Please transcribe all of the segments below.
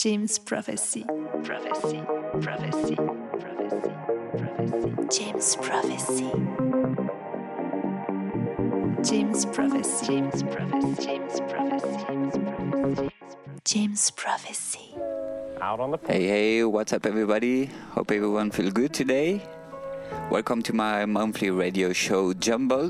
James Prophecy. Prophecy. Prophecy. Prophecy. Prophecy. James Prophecy. James Prophecy. James Prophecy. James Prophecy. James Prophecy. Out on the Hey, what's up everybody? Hope everyone feels good today. Welcome to my monthly radio show Jumble.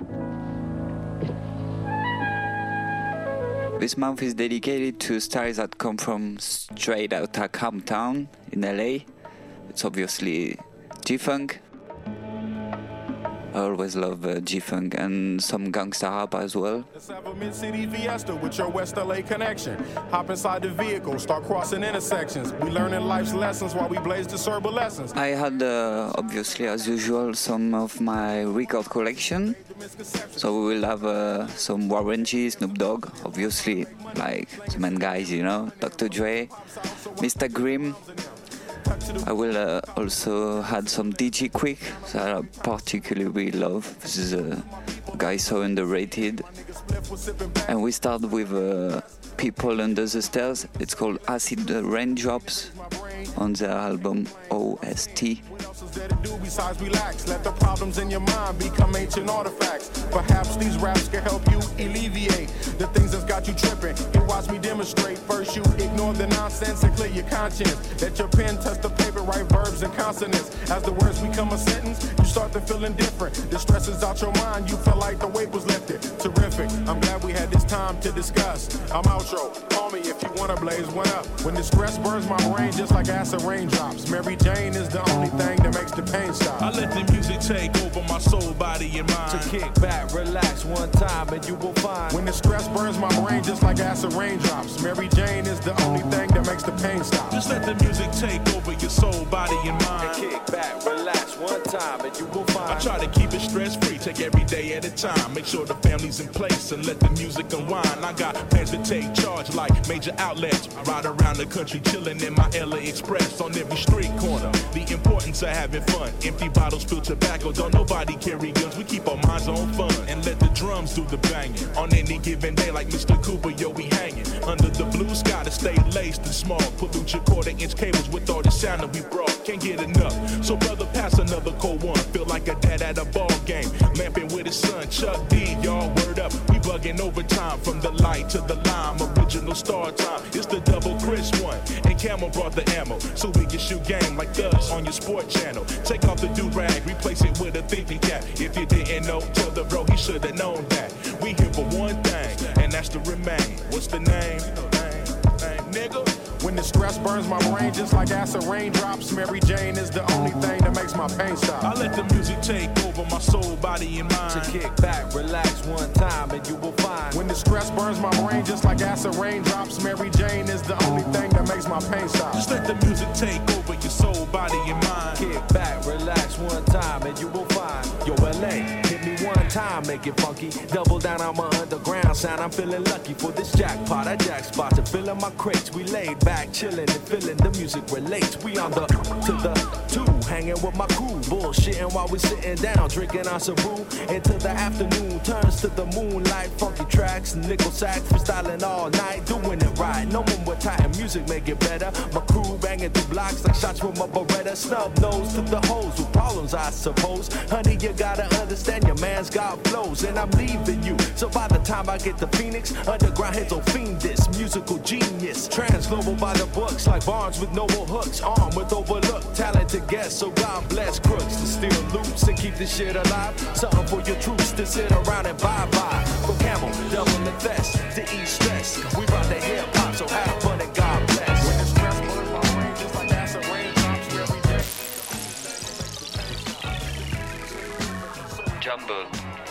This month is dedicated to stars that come from straight out of Compton in LA. It's obviously G-Funk. I always love G-Funk and some gangsta rap as well. Let's have a mid-city fiesta with your West LA connection. Hop inside the vehicle, start crossing intersections. We learning life's lessons while we blaze the serba lessons. I had, obviously, as usual, some of my record collection. So we will have some Warren G, Snoop Dogg, obviously, like the main guys, you know, Dr. Dre, Mr. Grimm. I will also add some DJ Quick that I particularly love. This is a guy so underrated. And we start with People Under the Stairs. It's called Acid Raindrops on their album OST. Besides relax, let the problems in your mind become ancient artifacts. Perhaps these raps can help you alleviate the things that's got you tripping. Here, watch me demonstrate. First, you ignore the nonsense and clear your conscience. Let your pen touch the paper, write verbs and consonants. As the words become a sentence, you start to feel indifferent. The stress is out your mind, you feel like the weight was lifted. Terrific, I'm glad we had this time to discuss. I'm outro, call me if you wanna blaze one up. When the stress burns my brain just like acid raindrops. Mary Jane is the only thing that makes the pain stop. I let the music take over my soul, body, and mind. To kick back, relax one time, and you will find. When the stress burns my brain just like acid raindrops. Mary Jane is the only thing that makes the pain stop. Just let the music take over your soul, body, and mind. To kick back, relax one time, and you will find. I try to keep it stress-free, take every day at a time. Make sure the family's in place and let the music unwind. I got plans to take charge like major outlets. Ride around the country chilling in my LA Express on every street corner. The importance of having fun. Empty bottles, spill tobacco. Don't nobody carry guns. We keep our minds on fun and let the drums do the banging. On any given day, like Mr. Cooper, yo, we hanging under the blue sky to stay laced and small. Pollute your quarter-inch cables with all the sound that we brought. Can't get enough. So brother, pass another cold one. Feel like a dad at a ball game, lamping with his son Chuck D. Y'all word up. We bugging overtime from the light to the lime. Original star time. It's the double Chris one. And Camel brought the ammo, so we can shoot game like thugs on your sport channel. Take off the do-rag, replace it with a thinking cap. If you didn't know, tell the bro he should've known that. We here for one thing, and that's to remain. What's the name? Nigga. When the stress burns my brain just like acid raindrops. Mary Jane is the only thing that makes my pain stop. I let the music take over my soul, body, and mind. To kick back, relax one time, and you will find. When the stress burns my brain just like acid raindrops. Mary Jane is the only thing that makes my pain stop. Just let the music take over your soul, body, and mind. Kick back, relax one time, and you will find. Yo, LA, hit me one time, make it funky. Double down on my underground sound. I'm feeling lucky for this jackpot. I jack spot to fill in my crates. We laid back, chilling and feeling the music relates. We on the to the two, hanging with my crew, bullshitting while we sitting down, drinking on some brew. Into the afternoon turns to the moonlight. Funky tracks, nickel sax, freestyling all night, doing it right. No one with tight music, make it better. My crew banging through blocks like shots with my Beretta. Snub nose to the hoes with problems, I suppose. Honey, you gotta understand your man's got flows, and I'm leaving you. So by the time I get to Phoenix, underground heads will fiend this musical genius. Trans global by the books like Barnes with noble hooks, armed with overlooked talented guests. So God bless crooks to steal loops and keep this shit alive. Something for your troops to sit around and bye-bye. From Camel, double the vest to ease stress. We rock the hip hop, so have fun and God bless. When the stress burns my brain just like acid raindrops. Every day. Jumble.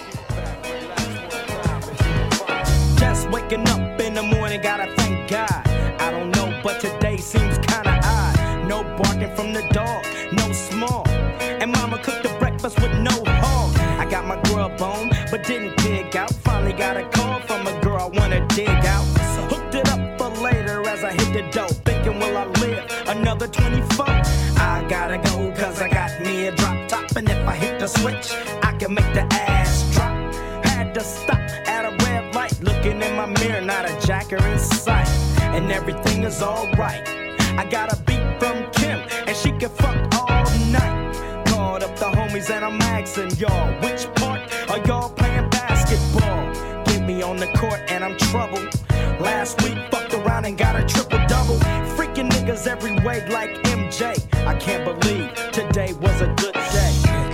Just waking up in the morning, gotta thank God. I don't know, but today seems kinda odd. No barking from the dog, no small. And mama cooked the breakfast with no hog. I got my grub on, but didn't dig out. Finally got a call from a girl I wanna dig out. Hooked it up for later as I hit the dough. Thinking, will I live another 24? I gotta go, cause I got me a drop top. And if I hit the switch, I can make the ass drop. Had to stop at a red light, looking in my mirror, not a jacker in sight. and everything is alright. I got a beat from Kim, and she can fuck all night. Called up the homies and I'm asking y'all, which part are y'all playing basketball? Get me on the court and I'm troubled. Last week fucked around and got a triple-double. Freaking niggas every way like MJ. I can't believe today was a good day.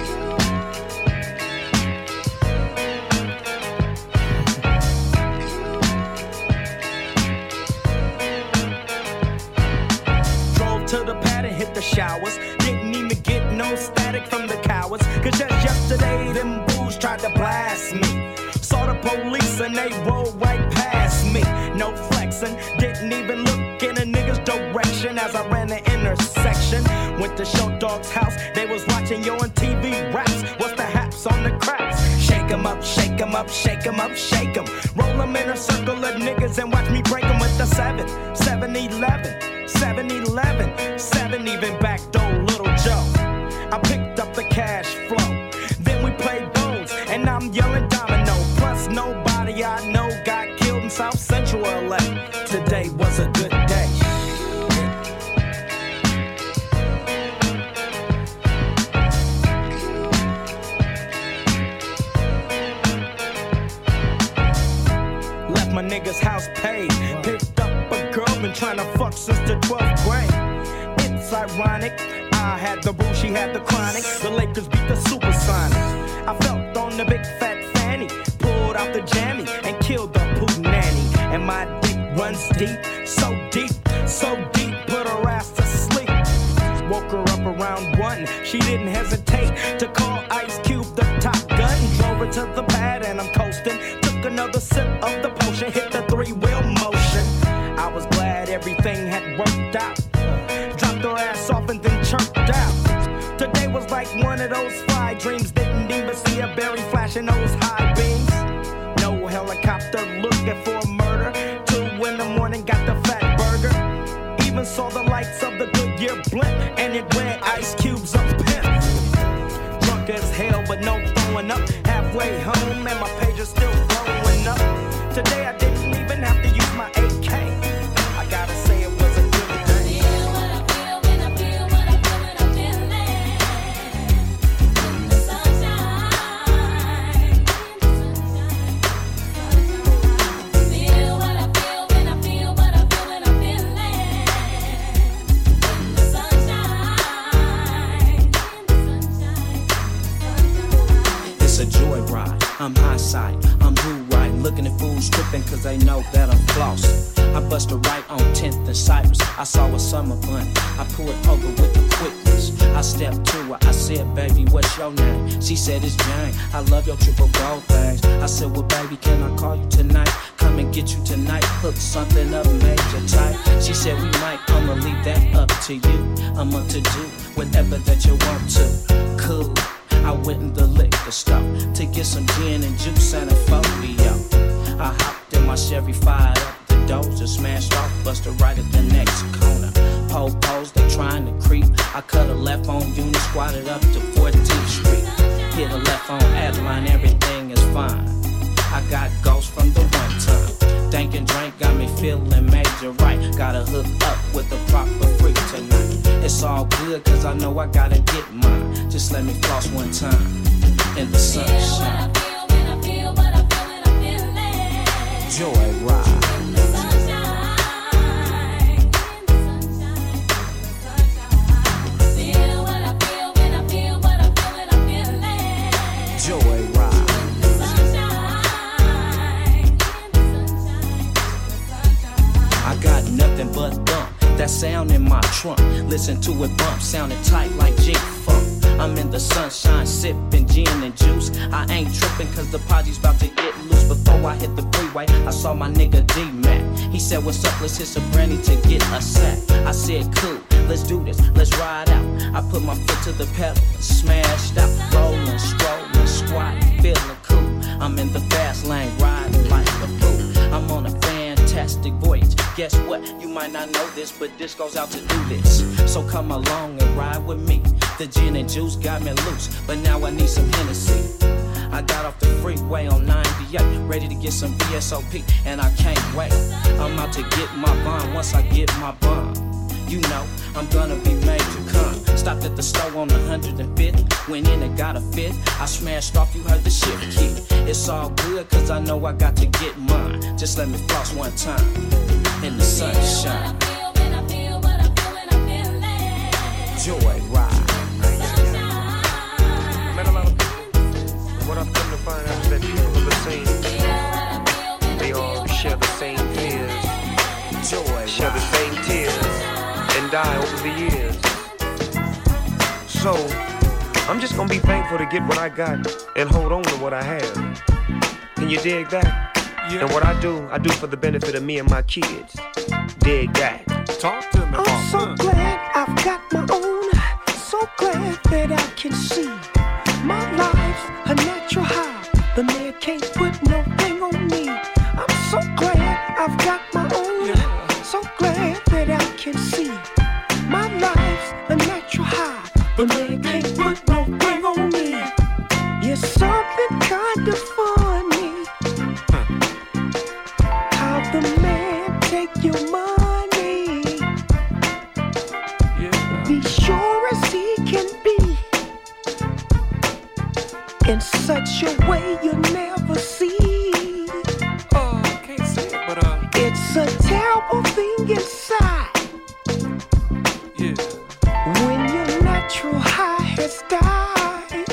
To the pad and hit the showers. Didn't even get no static from the cowards. Cause just yesterday them fools tried to blast me. Saw the police and they rolled right past me. No flexing, didn't even look in a nigga's direction as I ran the intersection. Went to Show Dog's house, they was watching yo on TV raps. What's the haps on the craps? Shake 'em up, shake 'em up, shake 'em up, shake 'em. Roll 'em in a circle of niggas and watch me break 'em with the 7-11. 7-11, 7 even back door Little Joe. I picked up the cash flow. Then we played bones, and I'm yelling domino. Plus nobody I know got killed in South Central LA. Today was a good day. Left my nigga's house paid. Picked up a girl, been trying to fuck since the 12th grade. It's ironic, I had the boo, she had the chronic. The Lakers beat the Supersonics. I felt on the big fat fanny, pulled out the jammy and killed the poo nanny. And my dick runs deep, so deep, so deep, put her ass to sleep. Woke her up around 1, she didn't hesitate to call Ice Cube the top gun. Drove her to the pad and I'm coasting. Took another sip of the potion, hit the 3-wheel motion. I was glad everything had worked out. Dropped her ass off and then chirped out. Today was like one of those fly dreams. Didn't even see a berry flashing those high beams. No helicopter looking for a murder. 2 in the morning, got the fat burger. Even saw the lights of the Goodyear blimp, and it read Ice Cube's up pimp. Drunk as hell, but no throwing up. Halfway home, and my page is still blowing up. Today I didn't even have to use my AK. I gotta say it was a good day. Feel what I feel when I feel what I feel when I'm feeling. In the sunshine. Feel what I feel when I feel what I feel when I'm feeling. In the sunshine. It's a joyride, I'm high side, I'm blue right. Looking at fools tripping cause they know that I'm flossing. I bust a right on 10th and Cypress. I saw a summer bun, I pulled over with the quickness. I stepped to her, I said, baby, what's your name? She said, it's Jane, I love your triple gold things. I said, well, baby, can I call you tonight? Come and get you tonight, hook something up major tight. She said, we might, I'ma leave that up to you. I'm up to do whatever that you want to. Cool. I went in the liquor store to get some gin and juice and a folio. I hopped in my Chevy, fired up the doors and smashed off, busted right at the next corner. Po-pos, they trying to creep. I cut a left on Union, squatted up to 14th Street. Hit a left on Adeline, everything is fine. I got ghosts from the one time. Dank and drink got me feeling major right. Gotta hook up with the proper freak tonight. It's all good cause I know I gotta get mine. Just let me floss one time in the sunshine. Feel what I feel when I feel what I'm feeling. Joy ride. In the sunshine. Feel what I feel when I feel what I feel when I'm feeling. Joy ride. In the sunshine. I got nothing but thump. That sound in my trunk. Listen to it bump, sounding tight like G-Funk. I'm in the sunshine, sipping gin and juice. I ain't tripping cause the party's about to get loose. Before I hit the freeway, I saw my nigga D-Mac. He said, what's up, let's hit some brandy to get a sack. I said, cool, let's do this, let's ride out. I put my foot to the pedal and smashed out. Rolling, strolling, squatting, feeling cool. I'm in the fast lane, riding like a fool. I'm on a fantastic voyage. Guess what? You might not know this, but this goes out to do this. So come along and ride with me. The gin and juice got me loose, but now I need some Hennessy. I got off the freeway on 98, ready to get some VSOP, and I can't wait. I'm out to get my bond once I get my bond. You know, I'm gonna be made to come. Stopped at the store on 105th, went in and got a fifth. I smashed off, you heard the shit kid. It's all good, cause I know I got to get mine. Just let me floss one time in the sunshine. Joy ride. Met a lot of people. What I've come to find out is that people are the same. They all share the same fears, Joy share the same tears, and die over the years. So, I'm just gonna be thankful to get what I got and hold on to what I have. Can you dig that? Yeah. And what I do for the benefit of me and my kids. Dig that. Talk to me, I'm so glad I've got my own. So glad that I can see my life's a natural high. The man can't put no thing on me. I'm so glad I've got my own. Yeah. So glad that I can see my life's a natural high. The man can't put no thing on me. You're something kind of funny. How the man take your money. Yeah. Be sure as he can be. In such a way you'll never see. Oh, I can't see it, but it's a terrible thing inside. Yeah. When your natural high has died.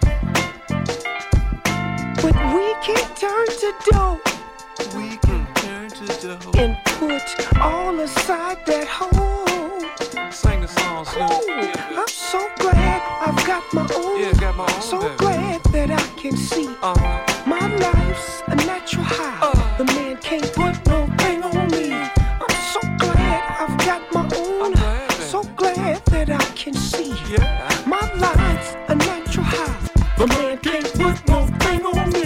But we can turn to dough. We can turn to dough. And put all aside that hole. Sing the song, Snoop. Yeah. I'm so glad I've got my own. Yeah, got my own. So baby. glad that I can see my life's a natural high. The man can't put no thing on me. I'm so glad I've got my own. So glad that I can see my life's a natural high. The man can't put no thing on me.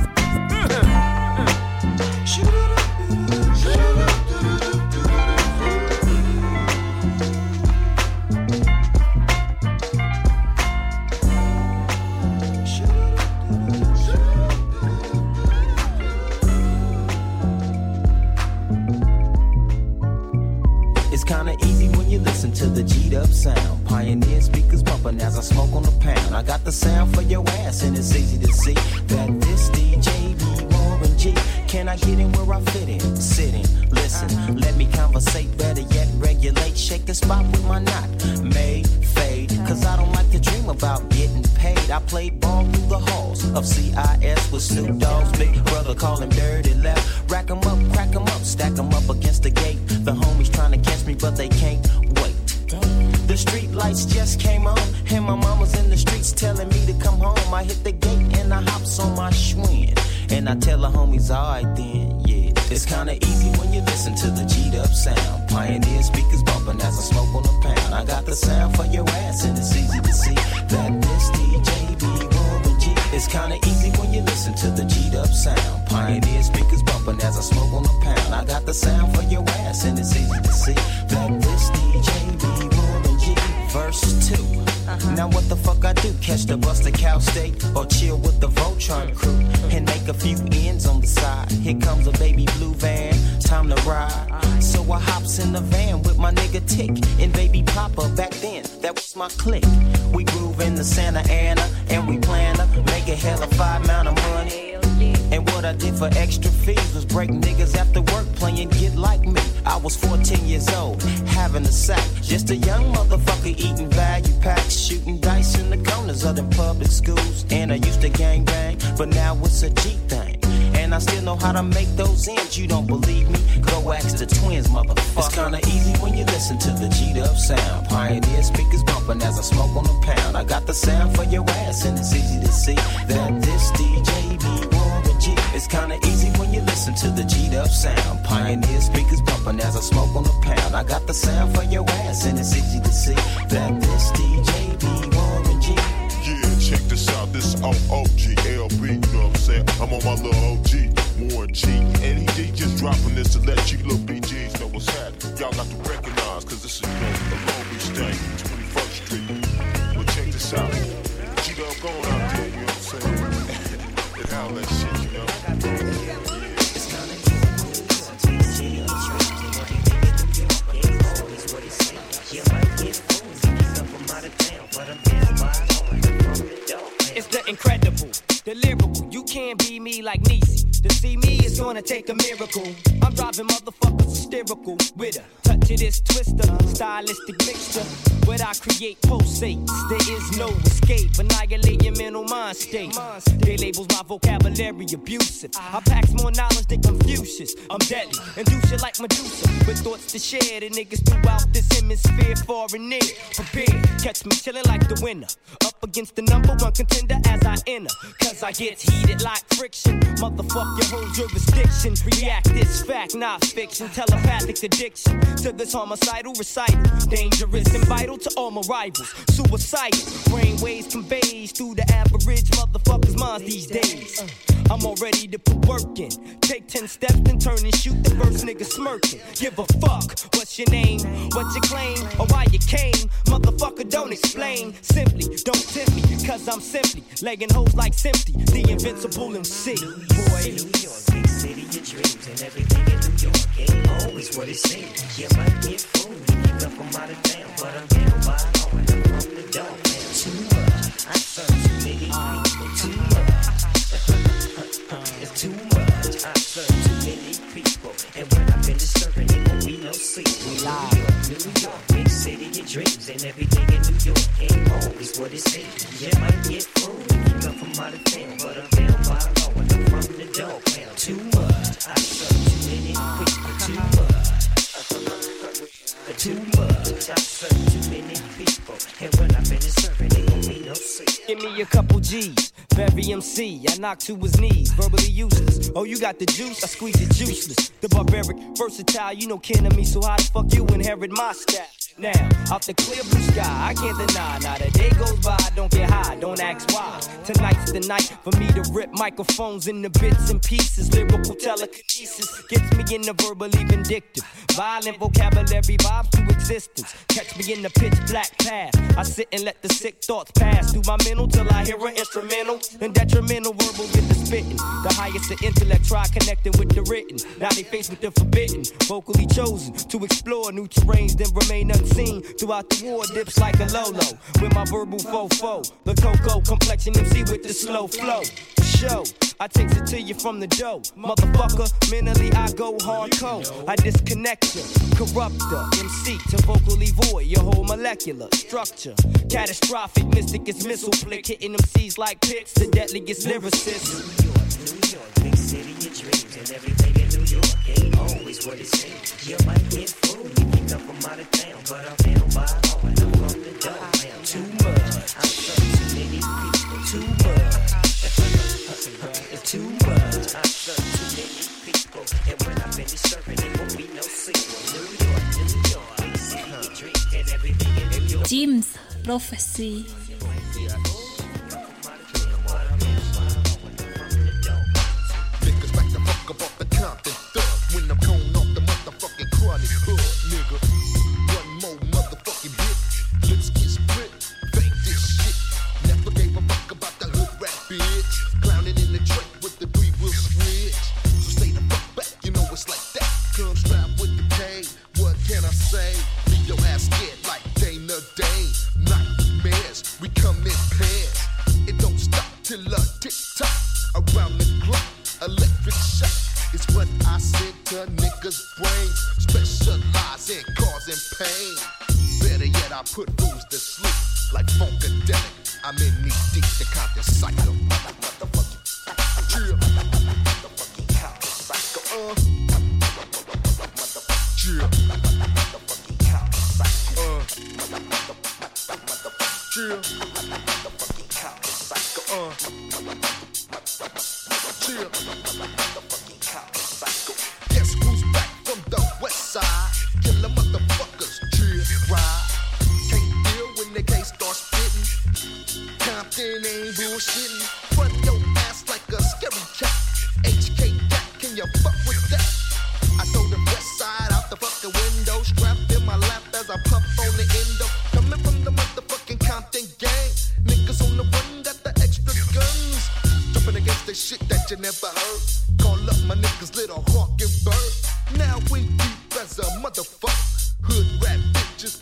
Kinda easy when you listen to the G'd up sound. Pioneer speakers bumping as I smoke on the pound. I got the sound for your ass and it's easy to see that this DJ be Warren G. Can I get in where I fit in? Sit in, listen, let me conversate, better yet regulate. Shake the spot with my knot, made, fade. Cause I don't like to dream about getting paid. I played ball through the halls of CIS with Snoop Dogg's big brother, call him Dirty Left. Rack 'em up, crack 'em up, stack 'em up against the gate. The homies trying to catch me but they can't wait. The street lights just came on and my mama's in the streets telling me to come home. I hit the gate and I hops on my Schwinn and I tell the homies, alright then, yeah. It's kinda easy when you listen to the G'd up sound. Pioneer speakers bumping as I smoke on the pound. I got the sound for your ass and it's easy to see that this DJ be Warren G. It's kinda easy when you listen to the G'd up sound. Pioneer speakers bumping as I smoke on the pound. I got the sound for your ass and it's easy to see that this DJ be Warren G. Verse 2. Now what the fuck I do? Catch the bus to Cal State or chill with the Voltron crew and make a few ends on the side. Here comes a baby blue van, time to ride. So I hops in the van with my nigga Tick and baby Papa. Back then, that was my clique. We groove in the Santa Ana and we plan to make a hell of $5 amount of money. And what I did for extra fees was break niggas after work playing Get Like Me. I was 14 years old, having a sack. Just a young motherfucker eating value packs, shooting dice in the corners of the public schools. And I used to gang bang, but now it's a G thing. And I still know how to make those ends. You don't believe me? Go ask the twins, motherfucker. It's kinda easy when you listen to the G'd up sound. Pioneer speakers bumping as I smoke on the pound. I got the sound for your ass and it's easy to see that this DJ be Warren G. It's kinda easy when you listen to the G'd up sound. Pioneer speakers bumping as I smoke on the pound. I got the sound for your ass and it's easy to see that this DJ be Warren G. Yeah, check this out, this is OOGLB, you know what I'm saying? I'm on my little OG, Warren G. And he just dropping this to let you little BGs know what's happening. Y'all got to recognize, cause this is, you know, a Long Beach thing, 21st Street. Well, check this out. G-Dub going out there, you know what I'm saying? all that shit, you know. It's the incredible, the lyrical. You can't be me like Niecy. To see me is gonna take a miracle. I'm driving motherfuckers hysterical with a touch of this twister, stylistic mixture. What I create pulsates. There is no escape. Annihilate your mental mind state. They labels my vocabulary abusive. I packs more knowledge than Confucius. I'm deadly and do shit like Medusa. With thoughts to share, the niggas throughout this hemisphere, far and near. Prepared, catch me chilling like the winner. Up against the number one contender as I enter. Cause I get heated like friction. Motherfuck your whole jurisdiction. React this fact, not fiction. Telepathic addiction to this homicidal recital. Dangerous and vital to all my rivals. Suicidal, brainwaves conveys through the average motherfucker's minds these days. I'm all ready to put work in. Take 10 steps and turn and shoot the first nigga smirking. Give a fuck, what's your name, what you claim, or why you came. Motherfucker, don't explain. Simply, don't tempt me, cause I'm simply legging hoes like Simply, the invincible MC. Boy, New York, big city of dreams, and everything in New York ain't always what it seems. You might get fooled, you up from out of town, but I'm down by all, and I'm from the dog. Too much, I serve too many people, too much. It's too much, I serve too many people. And when I finish serving, it won't be no sequel. New York, big city of dreams. And everything in New York ain't always what it seems. You might get fooled if you come from out of town, but I'm down by law and I'm from the dog pound. Too much, I serve too many people. Too much, too much, I serve too many people. And when I finish serving, it won't be no sequel. Give me a couple G's. Very MC, I knock to his knees, verbally useless. Oh, you got the juice, I squeeze it juiceless. The barbaric, versatile, you know kin of me, so how the fuck you inherit my style? Now, out the clear blue sky, I can't deny. Now the day goes by, I don't get high, don't ask why. Tonight's the night for me to rip microphones into bits and pieces. Lyrical telekinesis gets me in the verbally vindictive. Violent vocabulary vibes to existence. Catch me in the pitch black path. I sit and let the sick thoughts pass through my mental till I hear an instrumental. Then detrimental verbal get the spitting. The highest of intellect try connecting with the written. Now they faced with the forbidden. Vocally chosen to explore new terrains, then remain unseen. Throughout the war dips like a Lolo. With my verbal fofo. The cocoa complexion MC with the slow flow. Show. I takes it to you from the dough. Motherfucker, mentally I go hardcore. I disconnect you, corrupt the MC to vocally void your whole molecular structure. Catastrophic, mystic is missile flick, hitting MCs like pits, the deadliest lyricists. New York, big city of dreams, and everything in New York ain't always what it seems. You might get fooled if you come from out of town, but I'm down by all and I'm from the dog pound. Too much, I serve too many people, too much. It's too much, I serve too many people. And when I finish serving, it won't be no sequel. New York, big city of dreams, and everything in New York. Jim's Prophecy. Niggas like to fuck up off the Compton thug when I'm going off the motherfucking chronic hood, nigga. One more motherfucking bit, lips get split, fake this shit. Never gave a fuck about the hood rap bitch. Clowning in the truck with the 3-wheel switch. So stay the fuck back, you know it's like that. Come strap with the K, what can I say? Leave your ass scared like Dana Dane. Nightmares, we come in pairs. It don't stop till a tick-tock around the clock. Electric shock is what I send to niggas' brains. Specialize in causing pain. Better yet, I put fools to sleep like Funkadelic. I'm in knee deep, the Compton cycle. Motherfucking chill. Motherfucking Compton cycle. Chill. Motherfucking Compton cycle. Chill. Motherfucking Compton cycle. Chill. Motherfucking Compton cycle. Guess who's back from the west side? Killer motherfuckers, chill, ride. Can't deal when they can't start spitting. Compton ain't bullshitting. Run your ass like a scary cat. HK cat, can you fuck with that? I throw the west side out the fucking window. Strapped in my lap as I puff on the endo. Coming from the motherfucking Compton gang. Niggas on the run got the extra gun.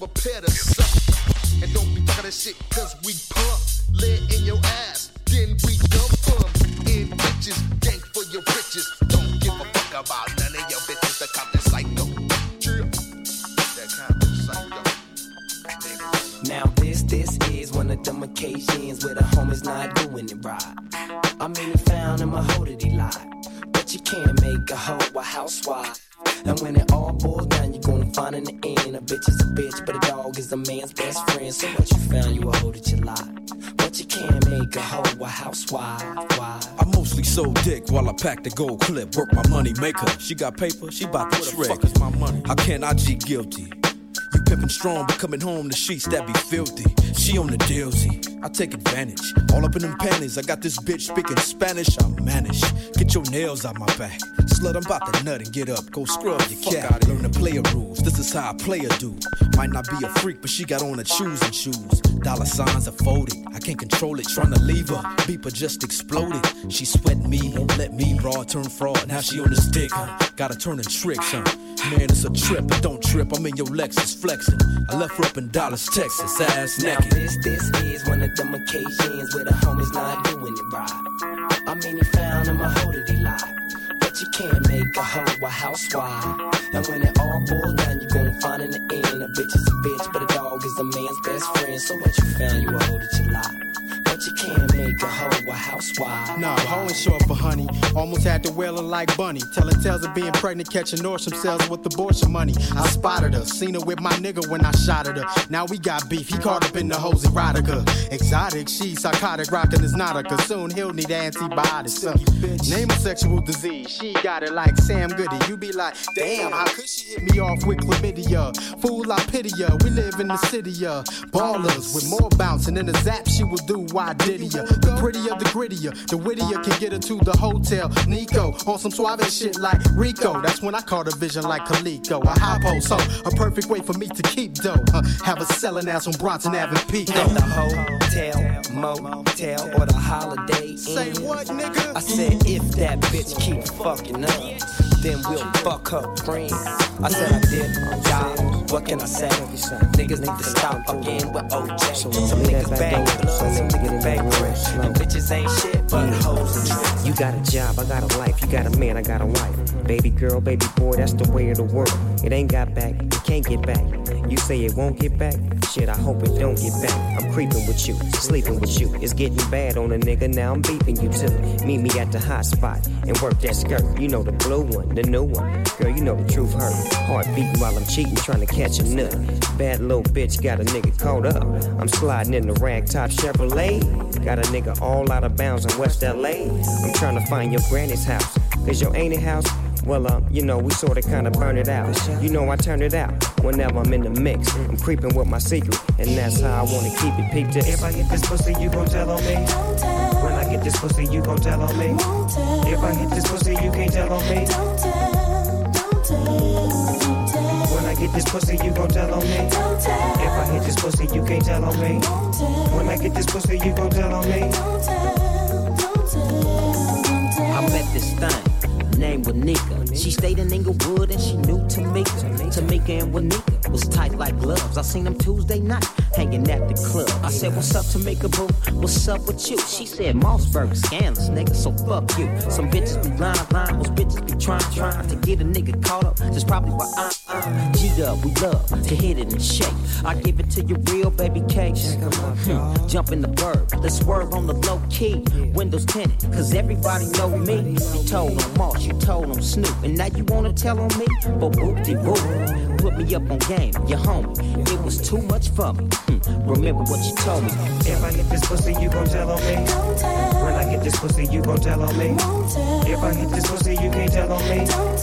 prepare to suck. And don't be talking that shit, cause we pump. Lead in your ass, then we dump them. In bitches, gang for your riches. Don't give a fuck about none of your bitches. The Compton Psycho. That Compton Psycho. Now this is one of them occasions where the homies not doing it right. I mean, he found him a hoe that he lied. But you can't make a hoe a housewife. And when it all boils down, you're gonna find in the end a bitch is a bitch, but a dog is a man's best friend. So what you found, you a hoe that you lied. But you can't make a hoe a housewife. Why? I mostly sold dick while I packed the gold clip. Work my money maker. She got paper, she bout to trick. Where the fuck is my money? How can I G guilty? You pimpin' strong, but coming home the sheets that be filthy. She on the dealsy, I take advantage. All up in them panties, I got this bitch speaking Spanish. I manage. Get your nails out my back. Slut, I'm about to nut and get up. Go scrub your cat. Learn the player rules. This is how a player do. Might not be a freak, but she got on her choosing shoes. Dollar signs are folded. I can't control it. Trying to leave her. Beeper just exploded. She sweating me, won't let me. Broad turn fraud. Now she on this dick, huh? Gotta turn in tricks, huh? Man, it's a trip, but don't trip. I'm in your Lexus flexing. I left her up in Dallas, Texas, ass naked. Now this is one of them occasions where the homies not doing it right. I mean, he found him a hoe that he lied. But you can't make a hoe a housewife. And when it all boils down, you're gonna find in the end a bitch is a bitch, but a dog is a man's best friend. So what you found, you a hoe that you lied. But you can't make a hoe a housewife. Nah, hoe ain't short for honey. Almost had to wail her like Bunny. Telling tales of being pregnant, catching Norsham cells with abortion money. I spotted her, seen her with my nigga when I shot at her. Now we got beef, he caught up in the hose erotica. Exotic, she psychotic, rockin' is not a soon he'll need antibiotics. Name a sexual disease, she got it like Sam Goody. You be like, damn, how could she hit me off with chlamydia? Fool, I pity ya, we live in the city, ballers with more bouncing than a zap she will do. Why did ya? The prettier, the grittier, the wittier can get her to the hotel. Nico on some suave shit like Rico. That's when I caught a vision like Kaliko. A high post, so a perfect way for me to keep dough. Have a selling ass on Bronson Avenue Pico. At the hotel, motel, or the Holiday Inn. Say what, nigga? I said if that bitch keep fucking up, then we'll fuck her friends. I said I did, God, what can I say? Niggas need to stop fucking with OJ. Some niggas bang blood, some niggas bang fresh. And bitches ain't shit but hoes and tricks. You got a job, I got a life. You got a man, I got a wife. Baby girl, baby boy, that's the way of the world. It ain't got back, it can't get back. You say it won't get back? Shit, I hope it don't get back. I'm creeping with you, sleeping with you. It's getting bad on a nigga, now I'm beeping you too. Meet me at the hot spot and work that skirt. You know the blue one, the new one. Girl, you know the truth hurt. Heart beating while I'm cheating, trying to catch a nut. Bad little bitch got a nigga caught up. I'm sliding in the ragtop Chevrolet. Got a nigga all out of bounds in West LA. I'm trying to find your granny's house. Cause your auntie house, well, you know, we sorta kinda burn it out. You know I turn it out whenever I'm in the mix. I'm creeping with my secret, and that's how I wanna keep it. Peep this. If I get this pussy, you gon' tell on me. When I get this pussy, you gon' tell on me. If I hit this pussy, you can't tell on me. When I get this pussy, you gon' tell on me. If I hit this pussy, you can't tell on me. When I get this pussy, you gon' tell on me. I met this thing, name was Nika. She stayed in Inglewood and she knew Tamika. Tamika and Wanika was tight like gloves. I seen them Tuesday night, hanging at the club. I said, what's up, Tamika, boo? What's up with you? She said, Mossberg scandalous, nigga, so fuck you. Some bitches be lying, those bitches be trying to get a nigga caught up. That's probably why I'm G-Dub, we love to hit it and shake. I give it to you real, baby cakes. Jump in the bird, let's swerve on the low key. Windows tinted, cause everybody know me. You told on Moss, you told on Snoop, and now you wanna tell on me? But whoop-de-whoop, put me up on game, your homie. It was too much for me. Remember what you told me. If I hit this pussy, you gon' tell on me. When I get this pussy, you gon' tell on me. If I hit this pussy, you can't tell on me.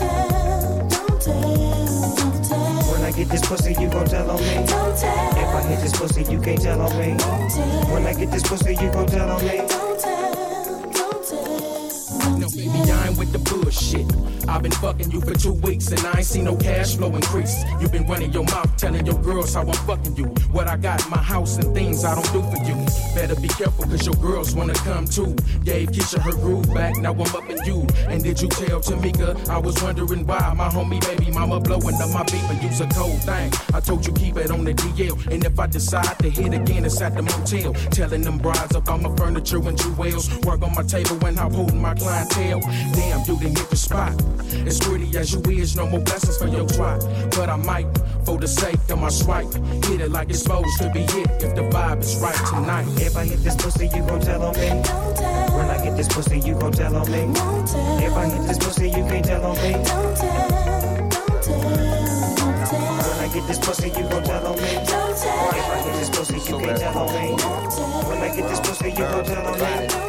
When I get this pussy, you gon' tell on me. If I hit this pussy, you can't tell on me. When I get this pussy, you gon' tell on me. No, baby, I ain't with the bullshit. I've been fucking you for 2 weeks and I ain't seen no cash flow increase. You been running your mouth telling your girls how I'm fucking you. What I got in my house and things I don't do for you. Better be careful cause your girls wanna come too. Gave Keisha her groove back, now I'm up in you. And did you tell Tamika? I was wondering why my homie baby mama blowing up my beat, but you's a cold thing. I told you keep it on the DL. And if I decide to hit again, it's at the motel. Telling them brides up on my furniture and jewels. Work on my table when I'm holding my clientele. Damn, you didn't hit the spot. As pretty as you is, no more blessings for your twat. But I might, for the sake of my swipe, hit it like it's supposed to be hit if the vibe is right tonight. If I hit this pussy, you gon' tell on me. When I get this pussy, you gon' tell on me. If I hit this pussy, you can't tell on me. When I get this pussy, you gon' tell on me. If I hit this pussy, you can't tell on me. When I get this pussy, you gon' tell on me.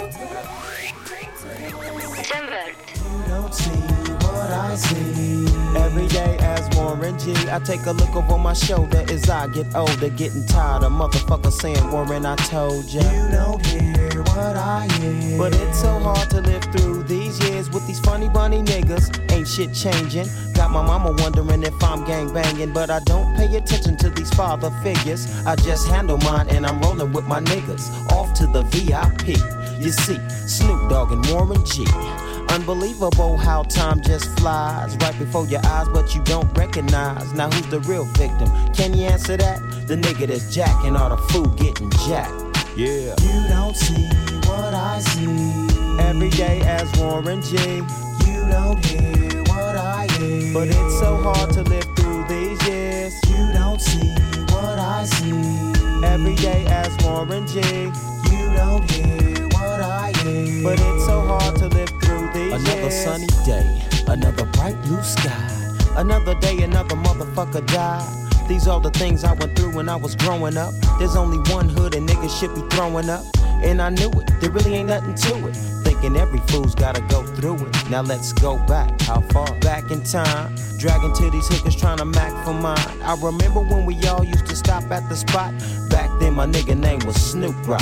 You don't see what I see. Every day as Warren G, I take a look over my shoulder as I get older, getting tired of motherfuckers saying, Warren, I told ya. You don't hear what I hear. But it's so hard to live through these years with these funny bunny niggas. Ain't shit changing. Got my mama wondering if I'm gang banging, but I don't pay attention to these father figures. I just handle mine and I'm rolling with my niggas. Off to the VIP. You see, Snoop Dogg and Warren G. Unbelievable how time just flies right before your eyes, but you don't recognize. Now who's the real victim? Can you answer that? The nigga that's jacking all the food getting jacked. Yeah. You don't see what I see. Every day as Warren G. You don't hear what I hear. But it's so hard to live through these years. You don't see what I see. Every day as Warren G. You don't hear what I hear. But it's so hard to live through these years. Another sunny day, another bright blue sky. Another day, another motherfucker died. These are the things I went through when I was growing up. There's only one hood and niggas should be throwing up. And I knew it, there really ain't nothing to it. Thinking every fool's gotta go through it. Now let's go back, how far? Back in time, dragging to these hookers trying to mac for mine. I remember when we all used to stop at the spot. Back then my nigga name was Snoop Rock.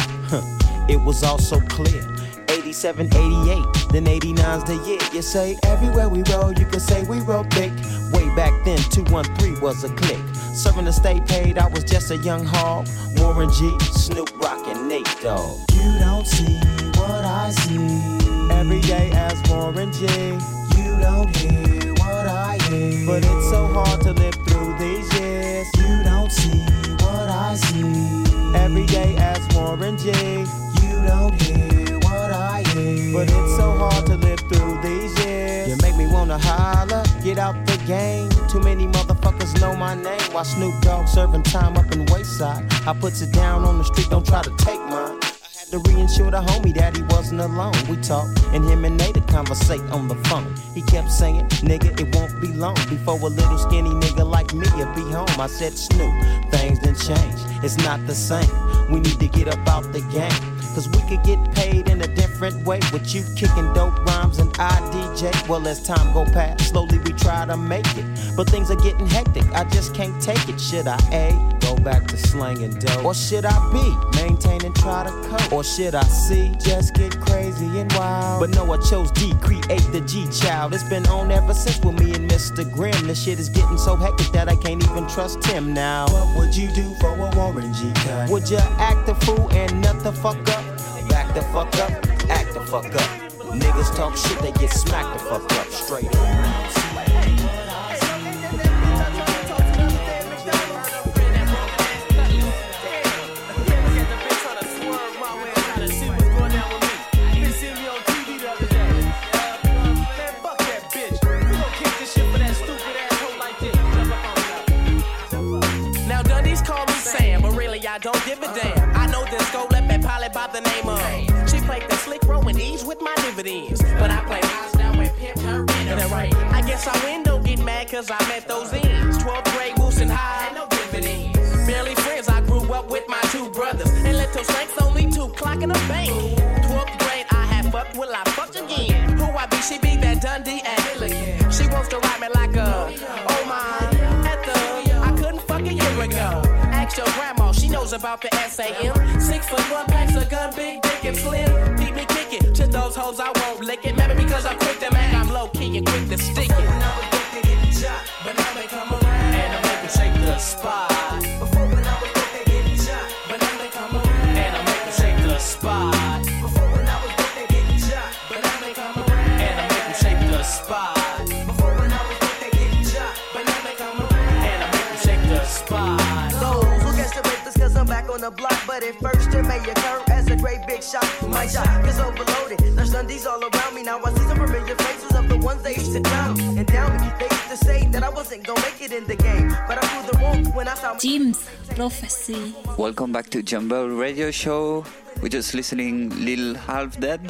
It was all so clear. 87, 88, then 89's the year. You say everywhere we roll, you can say we roll big. Way back then, 213 was a click. Serving the state paid, I was just a young hog. Warren G, Snoop Rock, and Nate Dogg. You don't see what I see. Every day as Warren G. You don't hear what I hear. But it's so hard to live through these years. You don't see what I see. Every day as Warren G. You don't hear what I hear. But it's so hard to live through these years. You make me wanna holler, get out the game. Too many motherfuckers know my name. While Snoop Dogg serving time up in Wayside, I puts it down on the street, don't try to take mine. To reinsure the homie that he wasn't alone. We talked, and him and Nate conversate on the phone. He kept saying, nigga, it won't be long before a little skinny nigga like me will be home. I said, Snoop, things done change. It's not the same. We need to get up out the game. Cause we could get paid in a different way. With you kicking dope rhymes and I DJ. Well, as time go past, slowly we try to make it. But things are getting hectic, I just can't take it. Should I A, go back to slanging dope? Or should I B, maintain and try to cope? Or should I C, just get crazy and wild? But no, I chose D, create the G-Child. It's been on ever since with me and Mr. Grimm. This shit is getting so hectic that I can't even trust him now. What would you do for a Warren G cut? Would you act a fool and nut the fuck up? Back the fuck up, act the fuck up. Niggas talk shit, they get smacked the fuck up straight up. I don't give a damn. I know this go left and pilot by the name of. She played the slick roll and ease with my dividends. But I play eyes down and pimp her in the right. I guess I win, don't get mad cause I met those ends. 12th grade, Woosing High, no dividends. Barely friends, I grew up with my two brothers. And little strengths, only 2 clock in the bank. 12th grade, I had fucked, will I fuck again? Who I be? She be that Dundee and Milligan. She wants to ride me like a, oh my, at the, I couldn't fuck a year ago. Ask your grandma, she knows knows about the SAM. 6'1" packs a gun, big dick and slim. Keep me kicking to those hoes, I won't lick it. Maybe because I'm quick to make, I'm low key and quick to stick it. When I was quick to get shot, but now they come around and I make it shake the spot. Before when I was quick to get shot, but now they come around and I make it shake the spot. Before when I was quick to get shot, but now they come around and I make it shake the spot. Before when I was quick to get shot, but now they come around and I make it shake the spot. Those who catch the rapist cause I'm back on the block, but at first it may occur as a great big shot. My shot is overloaded. There's Sundays all around me. Now I see some familiar faces of the ones they used to down me and down me. They used to say that I wasn't gonna make it in the game, but I proved them wrong when I saw Jim's Prophecy. Welcome back to Jumble Radio Show. We're just listening Lil Half Dead.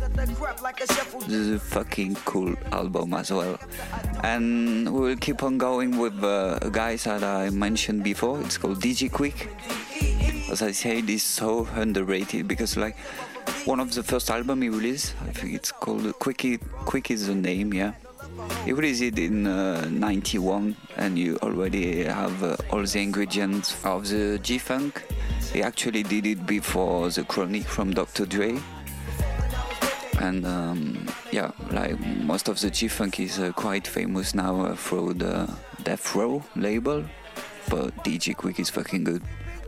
This is a fucking cool album as well. And we will keep on going with guys that I mentioned before. It's called DJ Quick. As I said, it's so underrated because like one of the first album he released, I think it's called Quick is the name, yeah. He released it in 91 and you already have all the ingredients of the G-Funk. He actually did it before the Chronic from Dr. Dre. And yeah, like most of the G-Funk is quite famous now through the Death Row label, but DJ Quick is fucking good.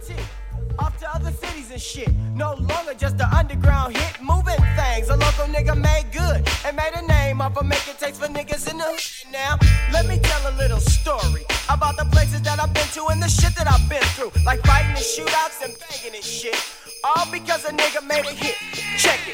Off to other cities and shit. No longer just the underground hit, moving things. A local nigga made good and made a name off of making tapes for niggas in the hood. Now, let me tell a little story about the places that I've been to and the shit that I've been through, like fighting and shootouts and banging and shit. All because a nigga made a hit. Check it.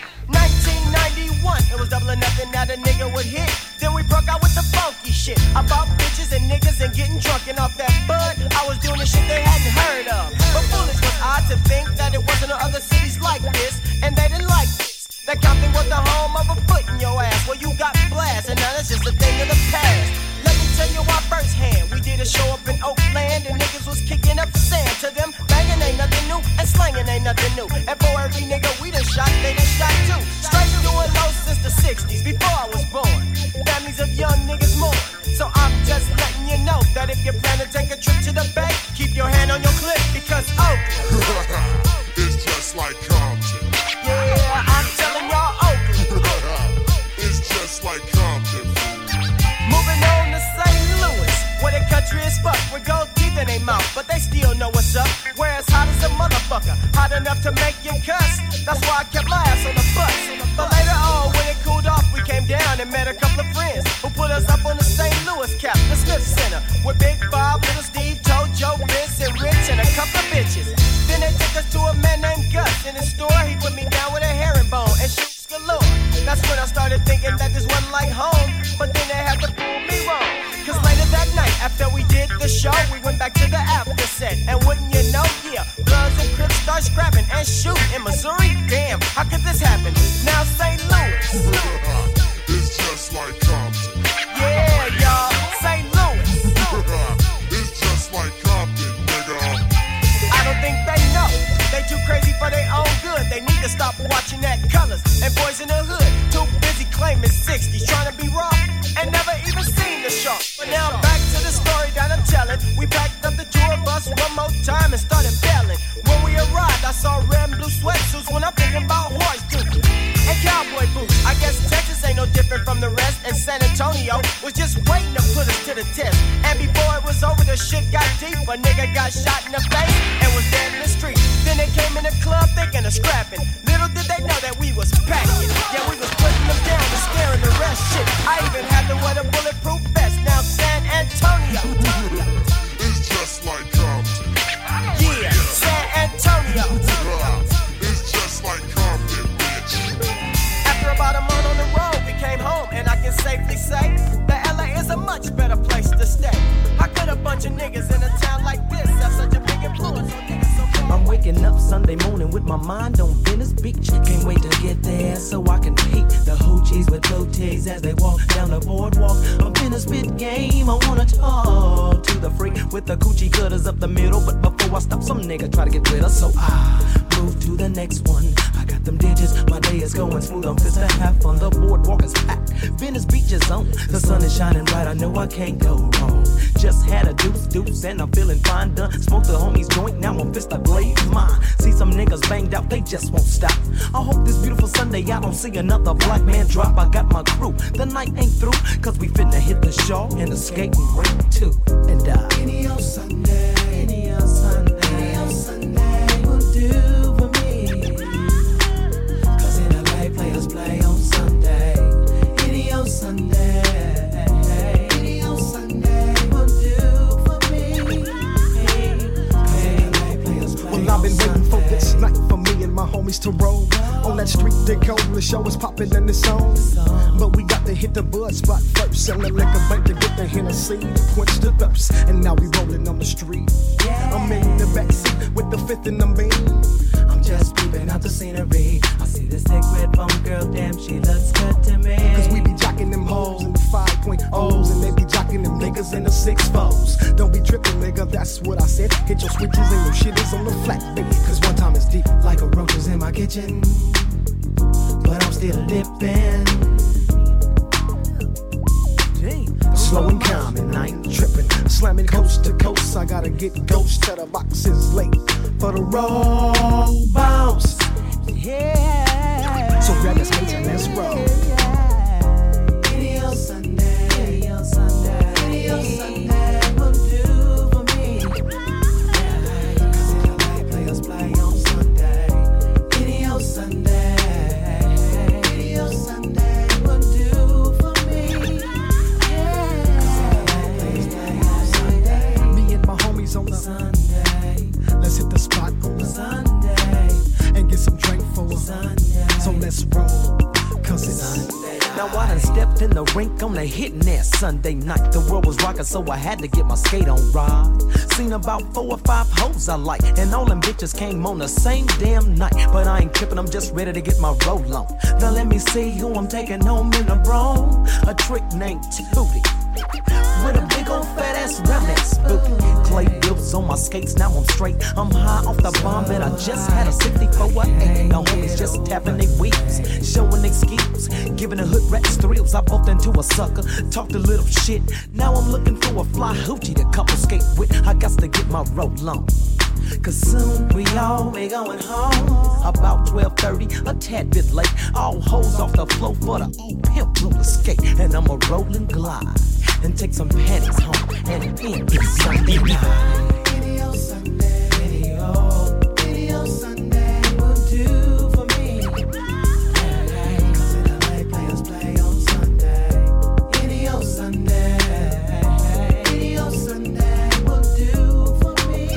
1991, it was double or nothing that a nigga would hit. Then we broke out with the funky shit about bitches and niggas and getting drunk and off that bud. I was doing the shit they hadn't heard of. But foolish was I to think that it wasn't in other cities like this, and they didn't like this. That Compton was the home of a foot in your ass. Well, you got blast, and now that's just a thing of the past. Let me tell you why firsthand. We did a show up in Oakland, and niggas was kicking up sand to them. Banging ain't nothing new, and slanging ain't nothing new. And for every nigga we done shot, they done shot too. Straight doing low since the 60s, before I was born. Families of young niggas mourn. So I'm just letting you know that if you plan to take a trip to the Bay, keep your hand on your clip, because Oakland it's just like Compton. Yeah, I'm telling y'all Oakland it's just like Compton. Moving on to St. Louis, where the country is fucked with gold teeth in their mouth, but they still know what's up. Where it's hot as a motherfucker, hot enough to make you cuss. That's why I kept my ass on the bus. But later on, when it cooled off, we came down and met a couple of friends who put us up on the St. Louis cap, the Smith Center, with Big Bob, Little Steve, Joe, Vince, and Rich, and a couple of bitches. Then they took us to a man named Gus. In his store, he put me down with a herringbone and shit galore. That's when I started thinking that this wasn't like home, but then they had to prove me wrong. Cause later that night, after we did the show, we went back to the after set. And wouldn't you know, yeah, Bloods and Crips start scrapping and shooting in Missouri. Damn, how could this happen? Now St. Louis it's just like Compton. Yeah, y'all, St. Louis it's just like Compton, nigga. I don't think they know. They too crazy for their own good. They need to stop watching that Colors and Boys in the Hood. Too busy claiming 60s, trying to be raw and never even seen the show. But now back to the story that I'm telling. We packed up the tour bus one more time and started bailing. When we arrived, I saw red and blue sweatsuits when I'm thinking about horse duty and cowboy boots. I guess Texas ain't no different from the rest, and San Antonio was just waiting to put us to the test. And before it was over, the shit got deep. A nigga got shot in the face and was dead in the street. Then they came in the club thinking of scrapping. Little did they know that we was packing. Yeah, we was putting them down and scaring the rest. Shit, I even had to wear the bulletproof vest. Now San Antonio it's just like Compton. Yeah, San Antonio it's just like Compton, bitch. After about a month on the road, we came home, and I can safely say that LA is a much better place to stay. How could a bunch of niggas in a town like this have such a big influence on niggas so bad? I'm waking up Sunday morning with my mind on Venice Beach. Can't wait to get there so I can peek the hoochies with blue tees as they walk down the boardwalk. I'm in a spit game, I wanna talk to the freak with the coochie cutters up the middle. But before I stop, some nigga try to get with us, so I move to the next one. I got them digits, my day is going smooth. I'm pissed to have fun, the boardwalk is packed. Venice Beach is on, the sun is shining bright, I know I can't go wrong. Just had a deuce, and I'm feeling fine, done. Smoked the homies joint, now I'ma fist the blade mine. See some niggas banged out, they just won't stop. I hope this beautiful Sunday I don't see another black man drop. I got my crew, the night ain't through, cause we finna hit the show and the skating rink too. And any old Sunday, any old Sunday, any old Sunday will do for me. Cause in LA players play on Sunday. Any old Sunday, any old Sunday will do for me. Cause in LA players play well, I've been waiting for this night for me and my homies to roll. On that street they go, the show is popping in the zone. But we got to hit the bud spot first. And the liquor bank to get the Hennessy to quench the thirst. And now we rolling on the street. I'm in the backseat with the fifth in the beam. I'm just peeping out the scenery. I see this thick red bone girl, damn, she looks good to me. Cause we be jocking them hoes in the 5.0s. And they be jocking them niggas in the 6.4s. Don't be tripping, nigga, that's what I said. Hit your switches and your shit is on the flat, baby. Cause one time it's deep like a roaches in my kitchen. But I'm still dipping. Slow and calm and I ain't tripping. Slamming coast to coast, I gotta get ghost to the boxes late for the roll bounce. Yeah. So grab your skates and let's roll. Any old Sunday, any old Sunday, any old Sunday will do for me. Yeah. Cause in LA players play on Sunday. Any old Sunday, any old Sunday will do for me. On the Sunday, let's hit the spot on the Sunday and get some drink for a Sunday. So let's roll, cause it's Sunday. Now I done stepped in the rink on the hitting that Sunday night. The world was rocking, so I had to get my skate on right. Seen about 4 or 5 hoes I like, and all them bitches came on the same damn night. But I ain't tripping, I'm just ready to get my roll on. Now let me see who I'm taking home in the bro. A trick named Tootie with a big old fat ass round that spooky. Clay wheels on my skates, now I'm straight. I'm high off the bomb, and I just had a 64 8. Now homies just tapping their wheels, showing their skills, giving the hood rats thrills. I bumped into a sucker, talked a little shit. Now I'm looking for a fly hoochie to couple skate with. I got to get my roll on. Cause soon we all be going home. About 12:30, a tad bit late. All hoes off the floor for the old pimp roller skate. And I'ma roll and glide and take some panties home. And then it's Sunday night. Any old Sunday, any old Sunday will do for me. Cause in LA players play on Sunday. Any old Sunday, any old Sunday will do for me.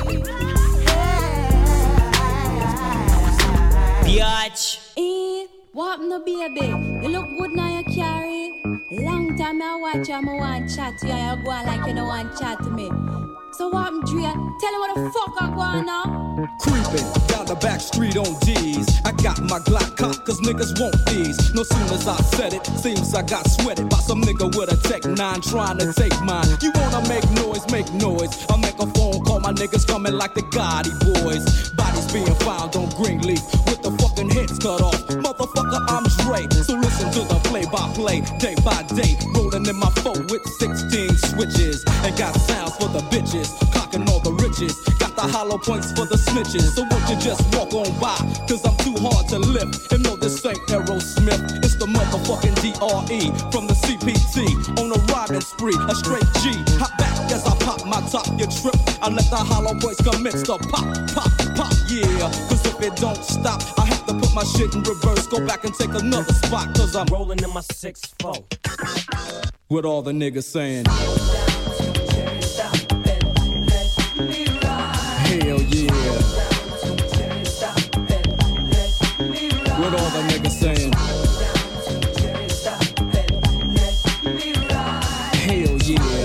Biatch. What no baby? You look good now, you carry. Long time I watch you, I want chat to you, and you go on like you don't want chat to me. So what, Dre? Tell him what the fuck I go on now. Creeping down the back street on D's. I got my Glock cocked cause niggas want these. No soon as I said it, seems I got sweated by some nigga with a Tech 9 trying to take mine. You wanna make noise, make noise. I make a phone call, my niggas coming like the Gotti boys. Bodies being found on Greenleaf with the fucking heads cut off. Motherfucker, I'm Dre. So listen to the play-by-play, day by day. Rolling in my 4 with 16 switches. And got sounds for the bitches, clocking all the riches. Got the hollow points for the snitches. So won't you just walk on by, cause I'm too hard to lift. And no, this ain't Aerosmith, it's the motherfucking DRE from the CPT. On a riding spree, a straight G. Hop back as I pop my top, you trip. I let the hollow points commence to pop, pop, pop, yeah. Cause if it don't stop, I have to put my shit in reverse. Go back and take another spot, cause I'm rolling in my 6-4. With all the niggas saying hell yeah. With all the niggas saying hell yeah.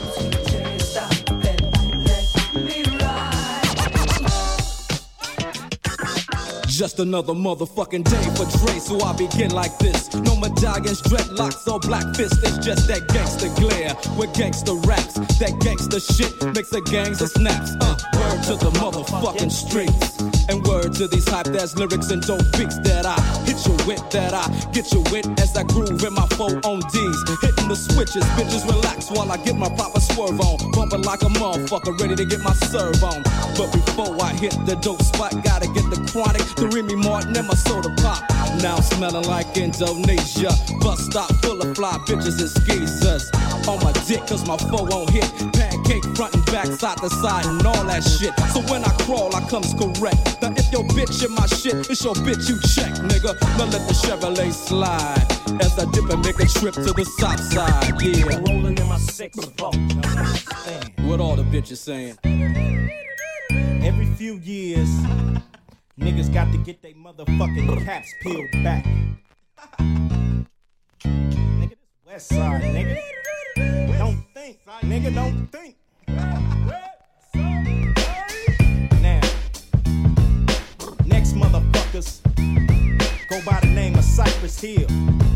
Just another motherfucking day for Dre, so I begin like this. No medallions, dreadlocks, or black fists. It's just that gangster glare with gangster raps. That gangster shit makes the gangs of snaps. Word to the motherfucking streets. And word to these hype ass lyrics and dope beats that I hit you with, that I get you with as I groove in my 4 on D's. Hitting the switches, bitches relax while I get my proper swerve on. Bumping like a motherfucker, ready to get my serve on. But before I hit the dope spot, gotta get the chronic, the Remy Martin and my soda pop. Now I'm smelling like Indonesia. Bus stop full of fly bitches and skeezers. On my dick cause my 4 on hit. Pancake front and back, side to side and all that shit. So when I crawl, I comes correct. Now if your bitch in my shit, it's your bitch you check, nigga. Now let the Chevrolet slide as I dip and make a trip to the south side, yeah. Rolling in my 6-4. What all the bitches saying? Every few years, niggas got to get they motherfucking caps peeled back. Nigga, this West Side, nigga. Don't think, nigga, don't think. Now, next motherfuckers go by the name of Cypress Hill.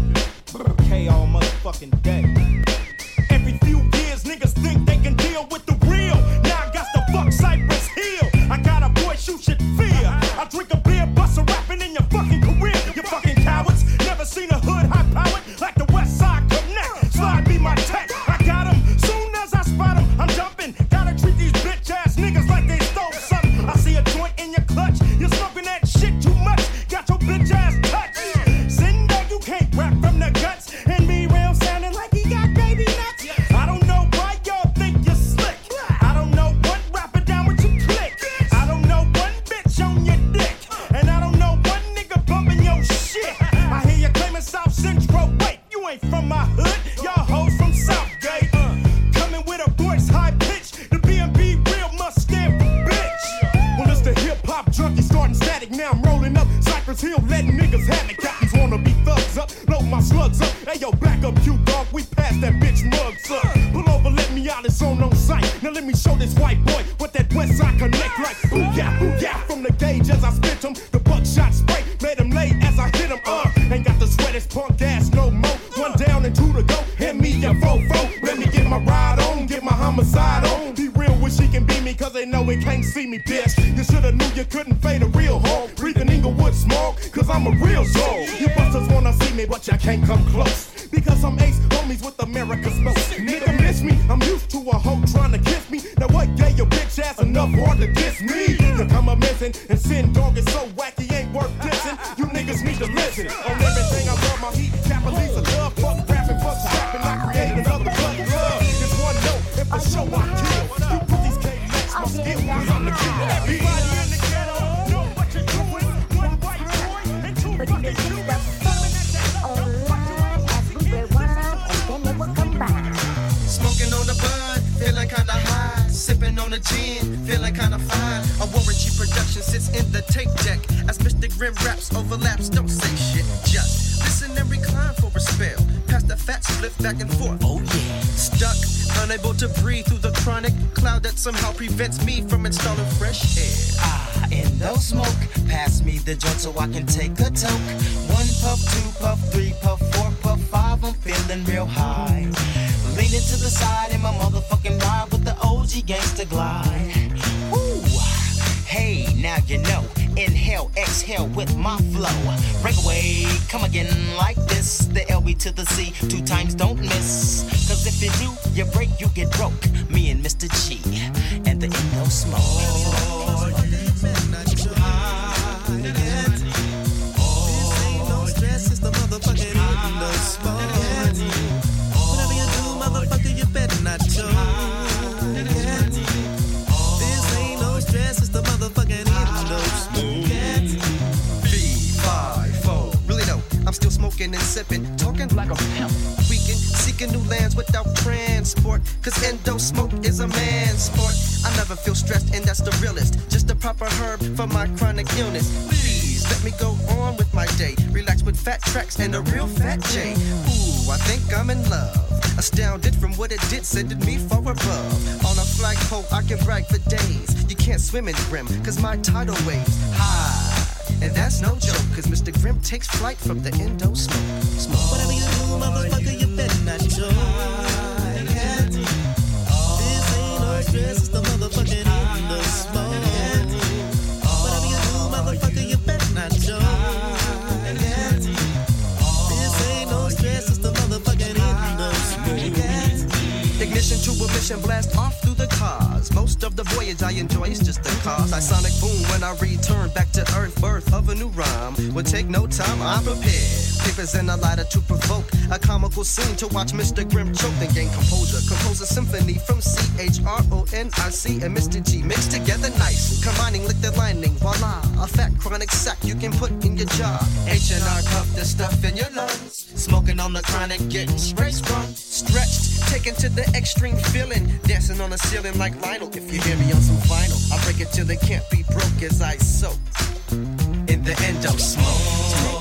K all motherfucking day. Every few years, niggas think they can deal with the real. Now I got to fuck Cypress Hill. I got a voice you should fear. I drink a beer, bust a rapping in your fucking career. You fucking cowards, never seen a hood high powered like the West Side Connect. Slide me my tech, I got 'em. Soon as I spot 'em, I'm jumping. Gotta treat these bitch ass niggas like they stole something. I see a joint in your clutch, you're smoking that shit too much. Got your bitch ass touched. Sitting there, you can't rap from the guts. And me real sounding like he got baby nuts. I don't know why y'all think you're slick. I don't know what rapper down with your click. I don't know one bitch on your dick. And I don't know one nigga bumping your shit. I hear you claiming South Central. Wait, you ain't from my hood. Y'all hoes from Southgate. Coming with a voice high pitch. The B&B real must stand for bitch. Well, it's the hip-hop junkie starting static. Now I'm rolling up Cypress Hill, letting niggas have it. Captains wanna be thugs up, load my slugs up. Hey, yo, back up, you dog. We passed that bitch mugs up. Pull over, let me out, it's on sight. Now let me show this white boy what that West Side Connect like. Booyah, from the gauge as I spit him. The buckshot spray made him lay as I hit him. Ain't got the sweat, it's punk ass no more. 1 down and 2 to go. Hit me a fofo. Let me get my ride on, get my homicide on. Be real when she can be me, cause they know it can't see me, bitch. You shoulda knew you couldn't fade a real home. Breathing Inglewood smoke, cause I'm a real soul. You busters wanna see me, but you can't come close. Because I'm ace homies with America's most. Nigga miss me, I'm used to a hoe trying to kiss me. Now what gave your bitch ass enough hard to diss me? To come a missing and sin dog is so wacky ain't worth dissing. You niggas need to listen. On everything I love my heat, Capolice a love. Fuck rapping, fuck rapping, I create another blood love. Just one note, if the show I kill. You put these K-Max, my skill, cause I'm the king. Everybody in the ghetto know what you're doing. 1 white boy and 2 fucking Cubans. Smoking on the bud, feeling kinda high. Sipping on the gin, feeling kinda fine. A Warren G production sits in the tape deck. As Mr. Grim raps overlaps, don't say shit. Just listen and recline for a spell. Pass the fat split back and forth. Oh yeah. Stuck, unable to breathe through the chronic cloud that somehow prevents me from installing fresh air. Endo smoke, pass me the joint so I can take a toke. 1 puff, 2 puff, 3 puff, 4 puff, 5, I'm feeling real high. Leaning to the side in my motherfucking ride with the OG gangsta glide. Woo! Hey, now you know. Inhale, exhale with my flow. Breakaway, come again like this. The LB to the C, 2 times don't miss. Cause if you do, you break, you get broke. Me and Mr. G and the Endo smoke. Oh, you midnight high yet. This ain't no stress, it's the motherfucking Endo smoke. Whatever you do, motherfucker, you better not choke. This ain't no stress, it's the motherfucking Endo smoke. 3, 5, 4. Really though, I'm still smoking and sipping, talking like a pimp. Weekend, seeking new lands without transport. Cause Endo smoke is a man's sport. I never feel stressed, and that's the realest. Just a proper herb for my chronic illness. Please let me go on with my day. Relax with fat tracks and a real fat J. Ooh, I think I'm in love. Astounded from what it did, sending me far above. On a flagpole, I can brag for days. You can't swim in Grim, cause my tidal waves high. And that's no joke, cause Mr. Grim takes flight from the Endo smoke. Smoke. Whatever you do, motherfucker, you better not joke. This ain't no stress, it's the motherfucking Endo smoke. Whatever you do, crash and blast off through the cars. Most of the voyage I enjoy is just the cause. I sonic boom when I return back to earth. Birth of a new rhyme would take no time, I'm prepared. Papers and a lighter to provoke a comical scene to watch Mr. Grimm choke and gain composure. Compose a symphony from CHRONIC and Mr. G mixed together nice. Combining liquid lining, voila, a fat chronic sack you can put in your jar. H&R puff the stuff in your lungs. Smoking on the chronic, getting straight sprung. Stretched, taken to the extreme feeling. Dancing on the ceiling like Lionel. If you hear me on some vinyl, I break it till it can't be broke as I soak. In the end of smoke.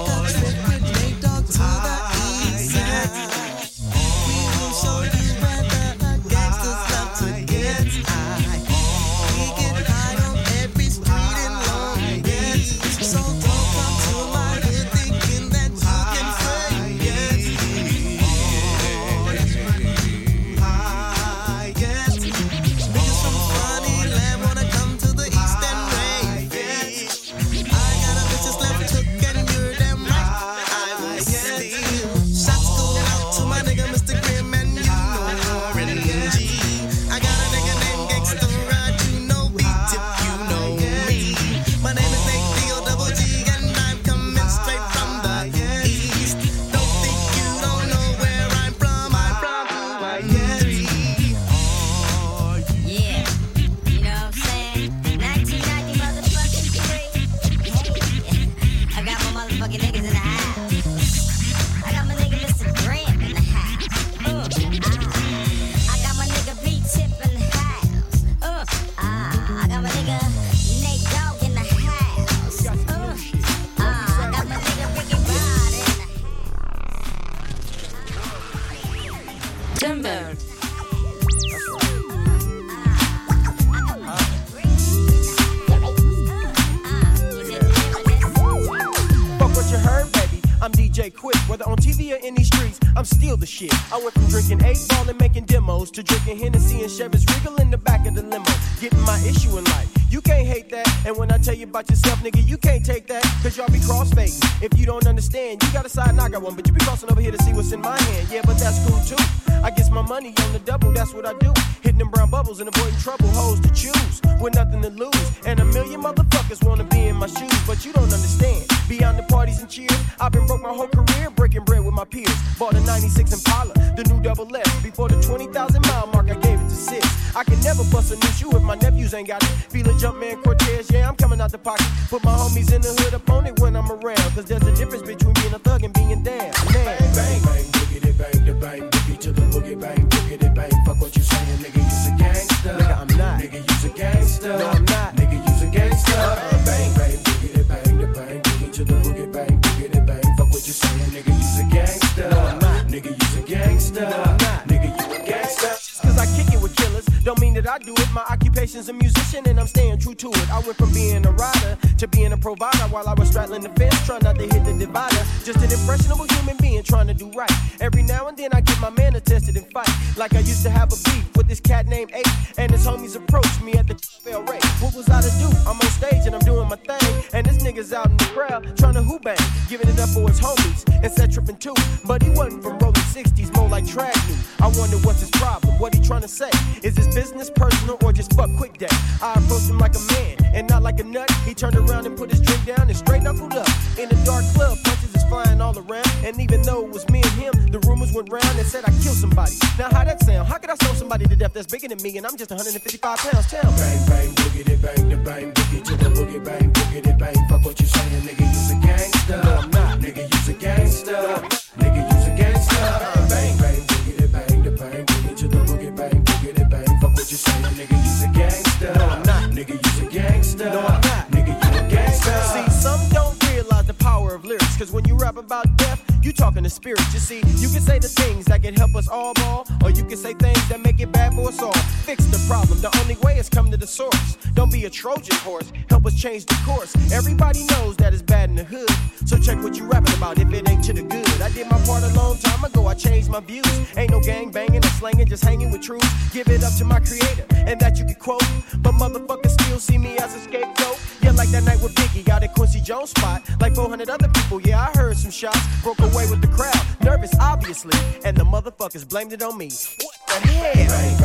I went from drinking 8-ball and making demos to drinking Hennessy and Chevys Regal in the back of the limo. Getting my issue in life. You can't hate that. And when I tell you about yourself, nigga, you can't take that. Cause y'all be crossfading. If you don't understand, you got a side and I got one. But you be crossing over here to see what's in my hand. Yeah, but that's cool too. I guess my money on the double, that's what I do. Hitting them brown bubbles and avoiding trouble. Hoes to choose with nothing to lose. And a million motherfuckers wanna be in my shoes. But you don't understand. Beyond the parties and cheers, I've been broke my whole career, breaking bread with my peers. Bought a 96 Impala, the new double S. Before the 20,000 mile mark, I gave it to 6. I can never bust a new shoe if my nephews ain't got it. Feel a Jumpman Cortez, yeah, I'm coming out the pocket. Put my homies in the hood up on it when I'm around. Cause there's a difference between being a thug and being down. Man, bang, bang, bang, boogity, bang, the bang, boogie to the boogie, bang, boogity, bang. Fuck what you saying, nigga, you's a gangster. Nigga, I'm not. Nigga, you's a gangster. No, I'm not. Nigga, you's a gangster. Bang, bang, boogity, bang, the bang, boogie to the boogie, bang, boogity, bang. Fuck what you saying, nigga, you's a gangster. No, I'm not. Nigga, you's a gangster. No, I'm not. Nigga, you a gangster. Just cause I kick it with killers, don't mean that I do it. My occupation's a musician and I'm staying true to it. I went from being a rider to being a provider while I was straddling the fence, trying not to hit the divider. Just an impressionable human being trying to do right. Every now and then I get my man attested and fight. Like I used to have a beef with this cat named Ape, and his homies approached me at the fail rate. What was I to do? I'm on stage and I'm doing my thing, and this nigga's out in the crowd trying to hoop bang, giving it up for his homies and set tripping too. But he wasn't from rolling 60s, more like track new. I wonder what's his problem, what he trying to say. Is this business personal or just fuck quick day? I approached him like a man and not like a nut. He turned around and put his drink down and straight knuckled up. In a dark club, punches is flying all around. And even though it was me and him, the rumors went round and said I killed somebody. Now how that sound? How could I smoke somebody to death that's bigger than me and I'm just 155 pounds? Tell me. Bang, bang, boogity, bang, the bang, boogie to the boogie, bang, boogity, bang. Fuck what you saying, nigga, you's a gangster. No, I'm not. Nigga, you's a gangster. Nigga, you's a gangster. Bang, bang, boogity, bang, the bang, boogie to the boogie, bang, boogity, bang. Fuck what you saying, nigga, you's a gangster. No, I'm not. Nigga, you's a gangster. No, I'm not. Nigga, you a gangster. See, some don't realize the power of lyrics, cause when you rap about death, you talking to spirits. You see, you can say the things that can help us all ball, or you can say things that make it bad for us all. Fix the problem, the only way is come to the source. Don't be a Trojan horse, help us change the course. Everybody knows that it's bad in the hood, so check what you rapping about if it ain't to the good. I did my part a long time ago, I changed my views. Ain't no gang banging or slanging, just hanging with truth. Give it up to my creator, and that you can quote. But motherfuckers still see me as a scapegoat. Yeah, like that night with Biggie, got a Quincy Jones spot. Like 400 other people, yeah, I heard some shots. Broke away with the crowd, nervous obviously, and the motherfuckers blamed it on me. What the hell? Bang, bang,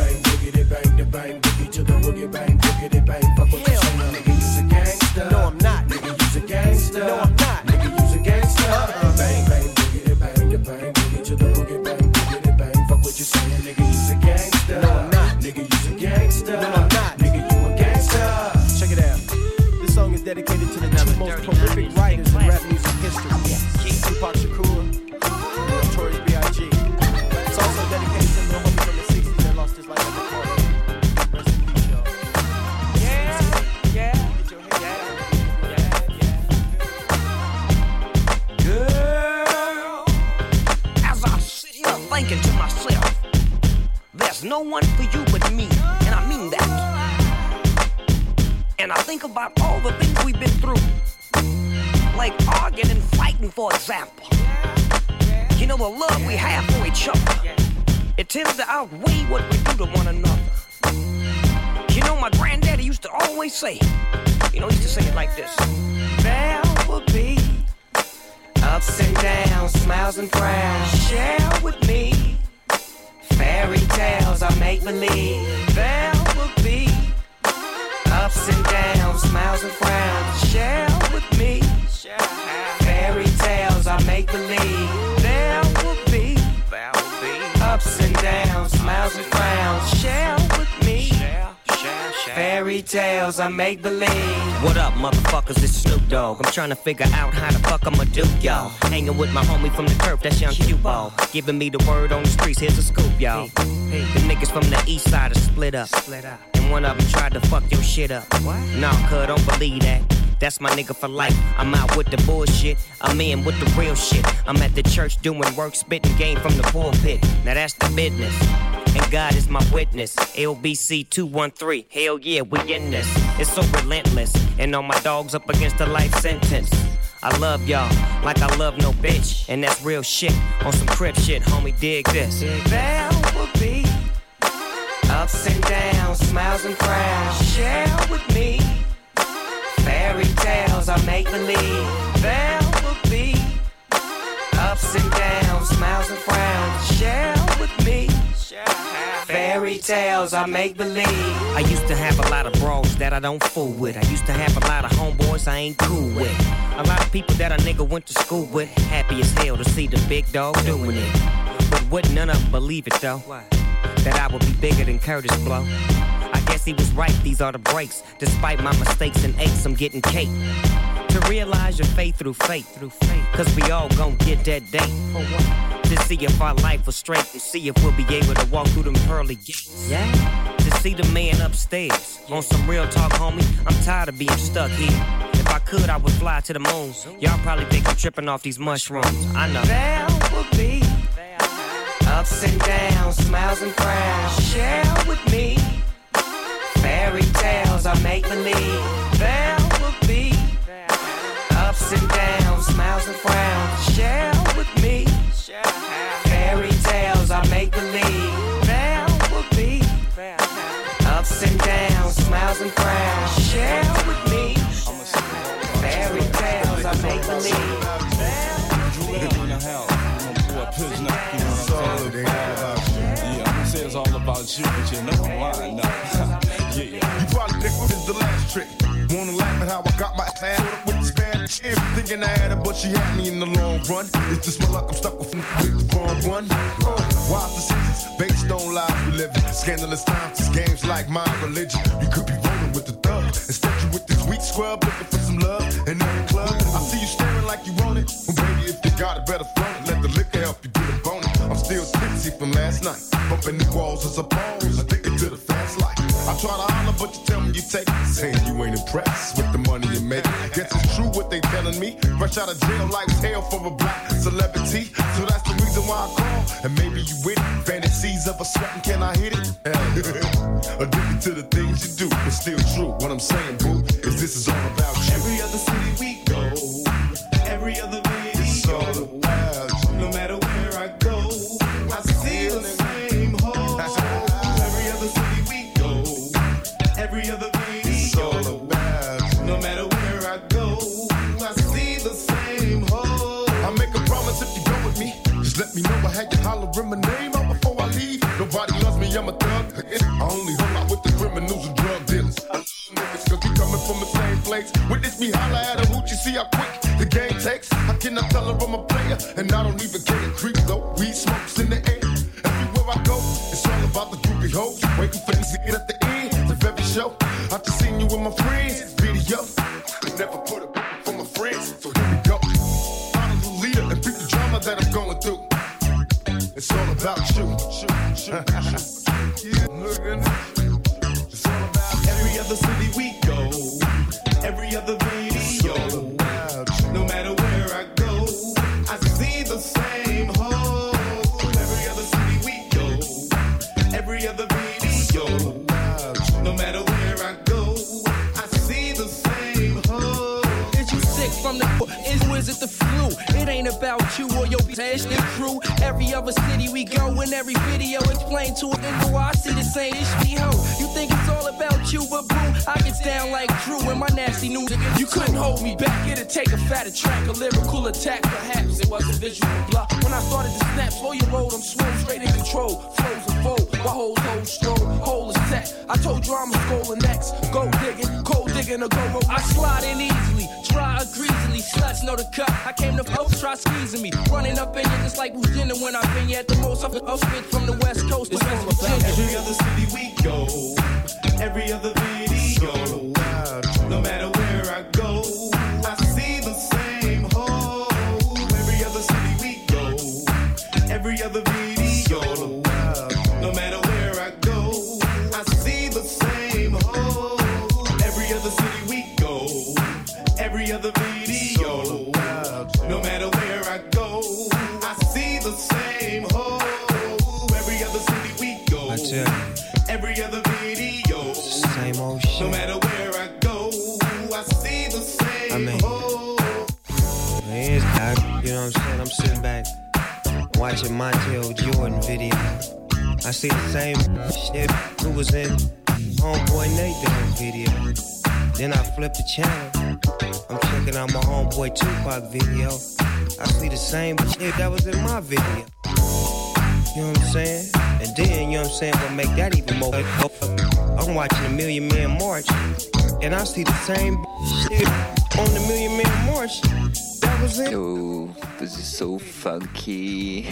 boogity bang, the bang, boogie to the boogie bang, boogity bang. Fuck what you saying, nigga, you's a gangster. No, I'm not. Nigga, you's a gangster. No, I'm not. Nigga, you's a gangster. Bang, bang, boogity bang, the bang, boogie to the boogie bang, boogity bang. Fuck what you saying, nigga, you's a gangster. No, I'm not. Nigga, you's a gangster. No, I'm not. Nigga, you a gangster. Check it out. This song is dedicated to the two most prolific writers in rap music history. Tupac Shakur and Notorious B.I.G. It's also dedicated to the homie from the 60s that lost his life at the party. Rest in peace, y'all. Girl, as I sit here thinking to myself, there's no one for you but me, and I mean that. And I think about all the things we've been through, like arguing and fighting, for example. You know, the love we have for each other, it tends to outweigh what we do to one another. You know, my granddaddy used to always say, he used to say it like this: there will be ups and downs, smiles and frowns. Share with me fairy tales I make believe. There will be ups and downs, smiles and frowns. Share with me fairy tales I make believe. There will be ups and downs, smiles and frowns. Share with me fairy tales I make believe. What up, motherfuckers? It's Snoop Dogg. I'm trying to figure out how the fuck I'ma do, y'all. Hanging with my homie from the turf, that's Young Q-Ball. Giving me the word on the streets, here's a scoop, y'all. The niggas from the east side are split up. And one of them tried to fuck your shit up. Nah, cuz, don't believe that. That's my nigga for life. I'm out with the bullshit, I'm in with the real shit. I'm at the church doing work, spitting game from the pulpit. Now that's the business, and God is my witness. LBC 213, hell yeah, we in this. It's so relentless, and all my dogs up against a life sentence. I love y'all like I love no bitch, and that's real shit. On some crib shit, homie, dig this. There will be ups and downs, smiles and frowns. Share with me fairy tales I make believe. There will be ups and downs, smiles and frowns. Share with me fairy tales I make believe. I used to have a lot of bros that I don't fool with. I used to have a lot of homeboys I ain't cool with. A lot of people that a nigga went to school with. Happy as hell to see the big dog doing it. But wouldn't none of them believe it though, that I would be bigger than Curtis Blow. I guess he was right, these are the breaks. Despite my mistakes and aches, I'm getting cake. To realize your faith through faith. Cause we all gon' get that day. For what? To see if our life was straight, and see if we'll be able to walk through them pearly gates. Yeah. To see the man upstairs. On some real talk, homie, I'm tired of being stuck here. If I could, I would fly to the moon. Y'all probably think I'm tripping off these mushrooms. I know. There will be ups and downs, smiles and frowns. Share with me fairy tales I make believe. There will be ups and downs, smiles and frowns. Share with me fairy tales I make believe. There will be ups and downs, smiles and frowns. Share with me fairy tales I make believe. It's all about you, but you know why now. Yeah. You probably think this is the last trick. Wanna laugh at how I got my ass with the Spanish chick. Thinking I had her, but she had me in the long run. It's just my luck, I'm stuck with the wrong one. Wise decisions based on lives we live in. Scandalous times, it's games like my religion. You could be rolling with the thug. Instead you with this weak scrub looking for some love. And in the club, I see you staring like you want it. Well, baby, if you got it, better flaunt it. Let the liquor help you get a bonus. I'm still tipsy from last night. Bumping the walls as a pose, addicted to the fast life. I try to holler, but you tell me you take it. Saying you ain't impressed with the money you make. Guess it's true what they telling me. Fresh out of jail, like hell for a black celebrity. So that's the reason why I call. And maybe you with it. Fantasies of a sweating, can I hit it? Addicted to the things you do, but still true. What I'm saying, boo, is this is all about you. Every other city we go, every other video, it's all about you. No matter where I go, I see the same hole. Every other city we go, every other video, it's all about you. No matter where I go, I see the same hole. I make a promise if you go with me, just let me know I had you hollering my name out before I leave. Nobody loves me, I'm a thug. I only hung out with the criminals and drug dealers. Niggas, cause we coming from the same place. Witness me holla at a hoochie, see how quick the game takes. I cannot tell her I'm a player, and I don't even care. Creep though, weed smokes in the air. Everywhere I go, it's all about the groupie hoes. Waiting for this to get at the end of every show. I just seen you with my friends, video. I never put a for my friends, so here we go. Follow the leader and beat the drama that I'm going through. It's all about you. Look at this. It's all about every other city we go, every other video. No matter where I go, I see the same hole. Every other city we go, every other video. No matter where I go, I see the same hole. Is you sick from the is it the flu? It ain't about you or your bitch and crew. Every other city we go, in every video explain to a nigga why I see the same ish ho. You think it's all about you, but boo, I get down like Drew and my nasty news. You couldn't hold me back, it'd take a fatter track, a lyrical attack. Perhaps it was a visual block. When I started to snap, slow your road, I'm swole, straight in control. Flows and fold, my whole stroll, hole is set. I told you I'm a scrolling next. Go digging, cold digging, or go roll. I slide in easily, dry or greasily. Sluts know the cut. I came to folks, try squeezing me. Running up in you just like Virginia when I've been here at the most. I've spit from the West Coast to West Virginia. Every other city we go, every other video. No matter where I go, I see the same hole. Every other city we go, every other video. No matter where I go, I see the same hole. Every other city we go, every other video. No matter where I go, I see the same hole. Every other city we go, every other video. Same old shit. No matter where I go, I see the same hole. You know what I'm saying? I'm sitting back watching Montel Jordan video. I see the same shit who was in Homeboy Nate Dogg video. Then I flip the channel. I'm checking out my Homeboy Tupac video. I see the same shit that was in my video. You know what I'm saying? And then, you know what I'm saying, what make that even more. I'm watching the Million Man March, and I see the same shit on the Million Man March. That was it. Oh, this is so funky.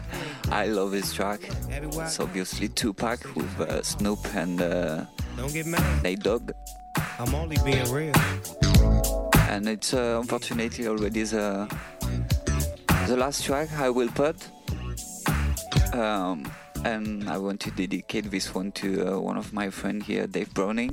I love this track. It's obviously Tupac with Snoop and Don't get mad. Nate Dogg. I'm only being real. And it's unfortunately already the last track I will put. And I want to dedicate this one to one of my friends here, Dave Browning.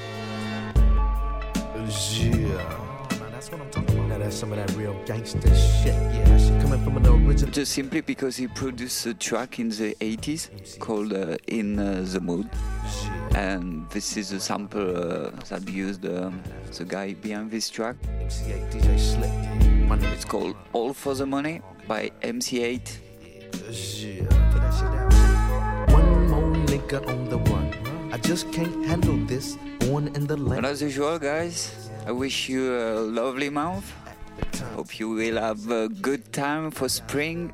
Yeah. That's what I'm talking about. Now that's some of that real gangster shit. Yeah, that shit coming from an original. Just simply because he produced a track in the 80s called In the Mood. And this is a sample that used the guy behind this track. MC8, DJ Slick. It's called All for the Money by MC8. Yeah. Put that shit down. One more nigga on the run. I just can't handle this. Born in the land. And as usual, guys, I wish you a lovely month. Hope you will have a good time for spring.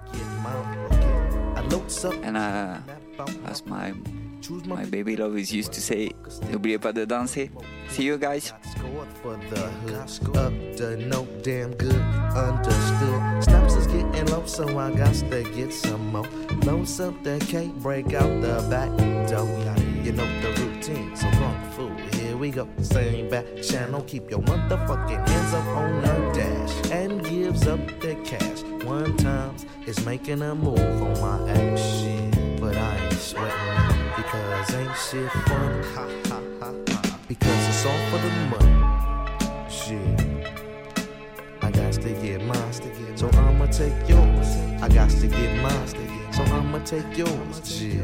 And as my baby love is used to say, n'oubliez pas de danser. See you guys. For the hood, up to no damn good, understood. Snaps is getting low, so I got to get some more. Loads up the cake, break out the back door. You know the routine, so kung fu, here we go. Same back channel, keep your motherfucking hands up on the dash. And gives up the cash. One time is making a move on my ass. Shit, but I ain't sweating because ain't shit fun. Ha ha ha ha. Because it's all for the money. Shit, I got to get mine, so I'ma take yours. I got to get mine, so I'ma take yours. Yeah.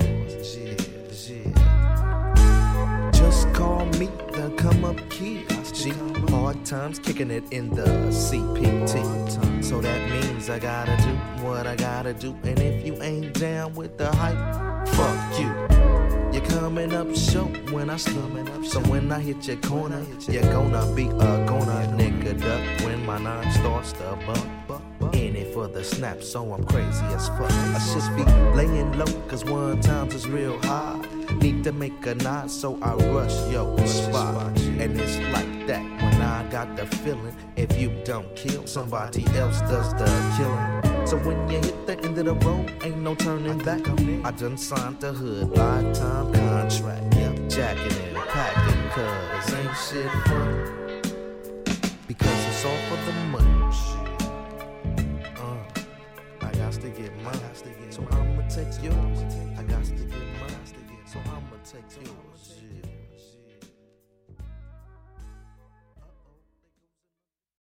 Just call me the come up kid. G, hard times kicking it in the CPT. So that means I gotta do what I gotta do. And if you ain't down with the hype, fuck you. You're coming up short when I slumming up. So when I hit your corner, you're gonna be a gonna nigga duck when my nine starts to bump. In it for the snap, so I'm crazy as fuck. I should be laying low, cause one times is real high. Need to make a nod, so I rush your spot. And it's like that when I got the feeling. If you don't kill, somebody else does the killing. So when you hit the end of the road, ain't no turning back. I done signed the hood, lifetime contract. Yep, jacking and packing, cause ain't shit fun. Because it's all for the money. I got to get mine, so I'ma take yours. I got to get mine, so I'ma take yours. Yeah.